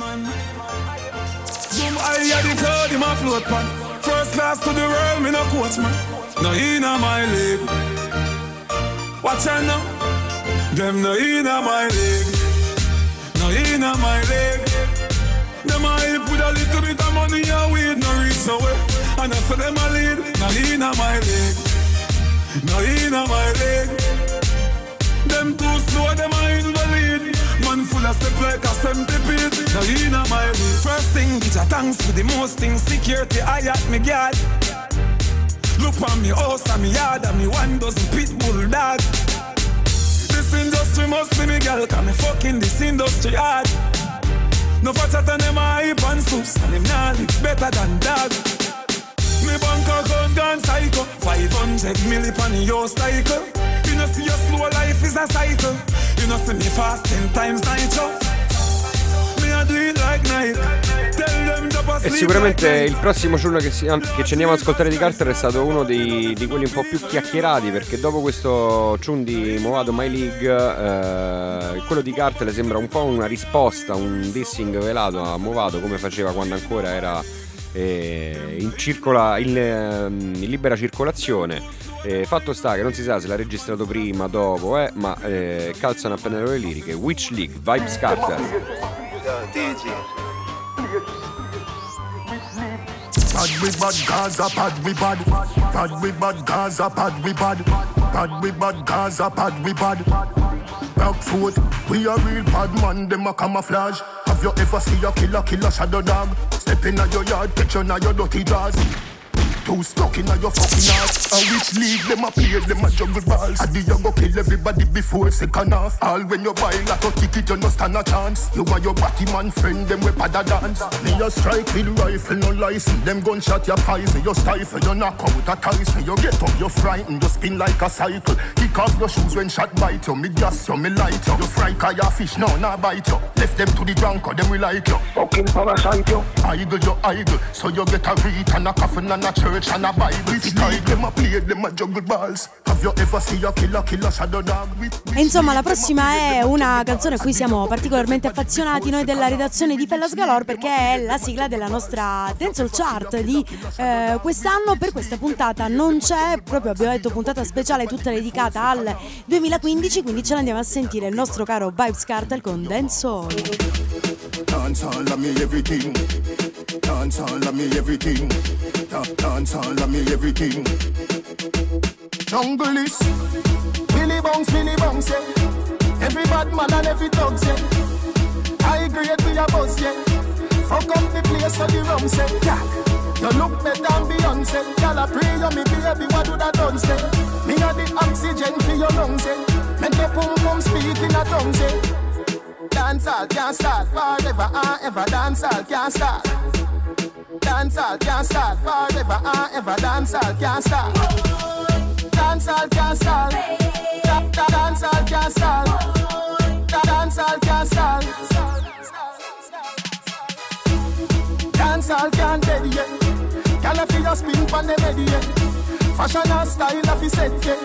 First class to the world, me no coach man. No inna my league. Watch out now. Them no inna my league. No inna my league. Them a help with a little bit of money and weed, no reach nowhere. And I say them a lead. No inna my league. No inna my league. Them too slow, them a in the lead. Man full of step like a centipede. No inna my league. First thing, bitch, a thanks for the most things. Security, I at me guard. Look on me house and me yard and me one dozen pit bull dog. This industry must be me girl, cause me fucking this industry hard. No fatter than them a hype and soups, and them nah live better than dog. Me bank account gone psycho, five hundred milli pan your cycle. You know see your slow life is a cycle. You know see me fast ten times nitro. Me a do it like night. Tell them to pass. E sicuramente il prossimo ciurno che, si, che ci andiamo ad ascoltare di Carter è stato uno dei, di quelli un po' più chiacchierati, perché dopo questo tune di Movado My League, eh, quello di Carter sembra un po' una risposta, un dissing velato a Movado, come faceva quando ancora era eh, in, circola, in, in libera circolazione. Eh, fatto sta che non si sa se l'ha registrato prima, dopo, eh, ma eh, calzano appena le liriche. Witch League, Vybz Kartel. Bad we bad Gaza, bad we bad. Bad we bad Gaza, bad we bad. Bad we bad Gaza, bad we bad. Back foot, we a real bad man, them a camouflage. Have you ever seen a killer, killer shadow dog? Step in your yard, catch you in your dirty jaws. Too stuck in your fucking ass. A which league them a play, them a juggle balls. A the you go kill everybody before second half. All when you buy like a ticket, you no stand a chance. You and your batty man friend, them we pada dance. Me a strike with rifle, no license. Them gunshot your poison, you stifle, you knock out a Tyson. You get up, you frightened, you spin like a cycle. Kick off your shoes when shot bite you. Me gas you, me light you. You fry cause your fish, no, nah bite you. Left them to the drunk, or them we like you. Fucking parasite you. Idle, you idle. So you get a read and a coffin and a church. And a Bible, them a play, them a juggle balls. Have you ever seen a killer, killer shadow dog? E insomma, la prossima è una canzone a cui siamo particolarmente affezionati noi della redazione di Fellas Galore, perché è la sigla della nostra Dancehall Chart di eh, quest'anno. Per questa puntata non c'è, proprio abbiamo detto puntata speciale tutta dedicata al duemilaquindici, quindi ce l'andiamo a sentire il nostro caro Vybz Kartel con Dancehall. Dancehall a me everything. Dancehall a me everything. Dancehall a me everything. Jungle is Billy Bounce, Billy Bounce, yeah. Every bad man and every thugs, yeah. High grade we a buzz, yeah. Fuck up the place of the rum, say, yeah. You look better than Beyonce. Y'all a pray you me baby, what do that done, say? Me a the oxygen for your lungs, yeah. Make your pum pum speak in a tongue, say. Dancehall can't start forever and ever. Dancehall can't start. Dancehall can't start forever and ever. Dancehall can't start. Dancehall can't start. Dancehall can't start. Dancehall can't start. Dancehall can't dead yet. Can I feel your spin from the bed yet? Fashion and style of his set yet.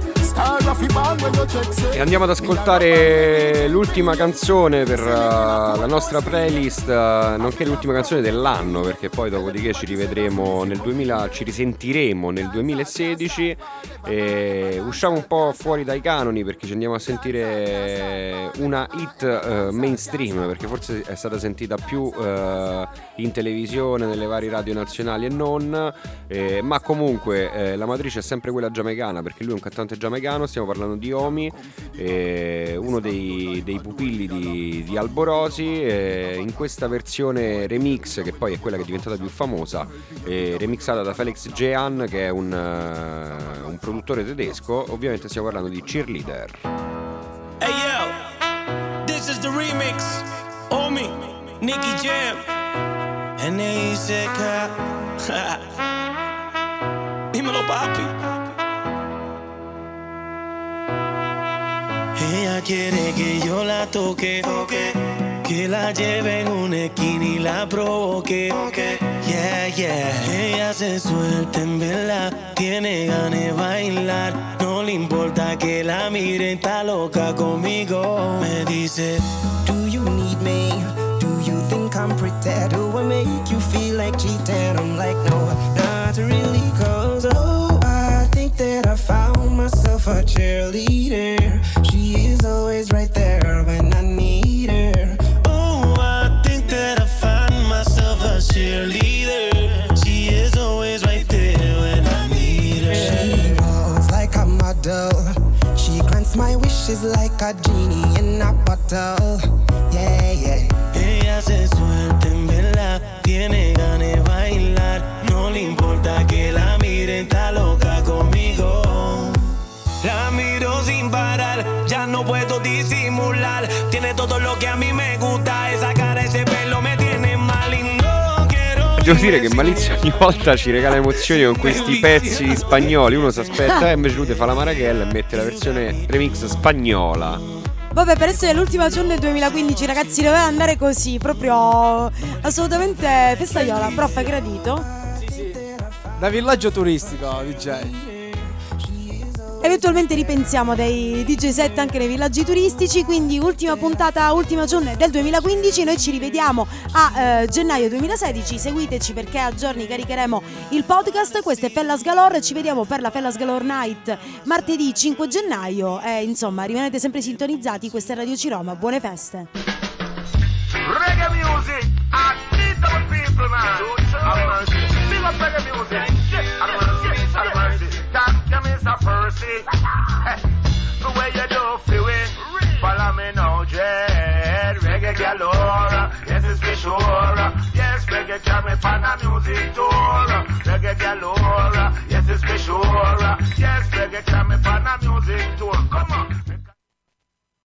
E andiamo ad ascoltare l'ultima canzone per uh, la nostra playlist, uh, nonché l'ultima canzone dell'anno, perché poi dopodiché ci rivedremo nel duemila, ci risentiremo nel duemilasedici e usciamo un po' fuori dai canoni, perché ci andiamo a sentire una hit uh, mainstream, perché forse è stata sentita più uh, in televisione, nelle varie radio nazionali e non, eh, ma comunque eh, la matrice è sempre quella giamaicana, perché lui è un cantante giamaicano. Stiamo parlando di Omi, eh, uno dei, dei pupilli di, di Alborosi, eh, in questa versione remix, che poi è quella che è diventata più famosa, eh, remixata da Felix Jean, che è un, uh, un produttore tedesco. Ovviamente stiamo parlando di Cheerleader. Hey yo, this is the remix. Omi, Nicky Jam, and they said, dímelo papi. Ella quiere que yo la toque, toque. que la lleve en una esquina y la provoque. Yeah, yeah. Ella se suelta en verdad, tiene ganas de bailar. No le importa que la miren, está loca conmigo. Me dice, do you need me? Do you think I'm pretty? Do I make you feel like cheating? I'm like, no, not really, cause oh, I think that I found myself a cheerleader. She is always right there when I need her. Oh, I think that I found myself a cheerleader. She is always right there when I need her. She walks like a model. She grants my wishes like a genie in a bottle. Yeah, yeah. Ella se suelta en verdad, tiene ganas de bailar. No le importa que la miren, está loca conmigo. La miro sin parar, ya no puedo disimular. Tiene todo lo que a mí me gusta, esa cara, ese pelo me tiene mal y no quiero. Devo dire che Malizia ogni volta ci regala emozioni con questi pezzi spagnoli. Uno si aspetta e invece lui fa la marachella e mette la versione remix spagnola. Vabbè, per essere l'ultima giorno del duemilaquindici, ragazzi, doveva andare così, proprio assolutamente festaiola. Prof, hai gradito? Sì, sì. Da villaggio turistico, D J. Eventualmente ripensiamo dei D J set anche nei villaggi turistici. Quindi ultima puntata, ultima giorno del duemilaquindici. Noi ci rivediamo a eh, gennaio duemilasedici. Seguiteci perché a giorni caricheremo il podcast. Questo è Fellas Galore. Ci vediamo per la Fellas Galore Night martedì cinque gennaio. E insomma, rimanete sempre sintonizzati. Questa è Radio Ciroma. Buone feste. Reggae music, I need those people, man. Big up reggae music. I don't see, I don't see. Thank you, Mister Percy. The way you do feel it. Follow me now, Jed. Reggae galore. Yes, it's for sure. Yes, reggae can me pan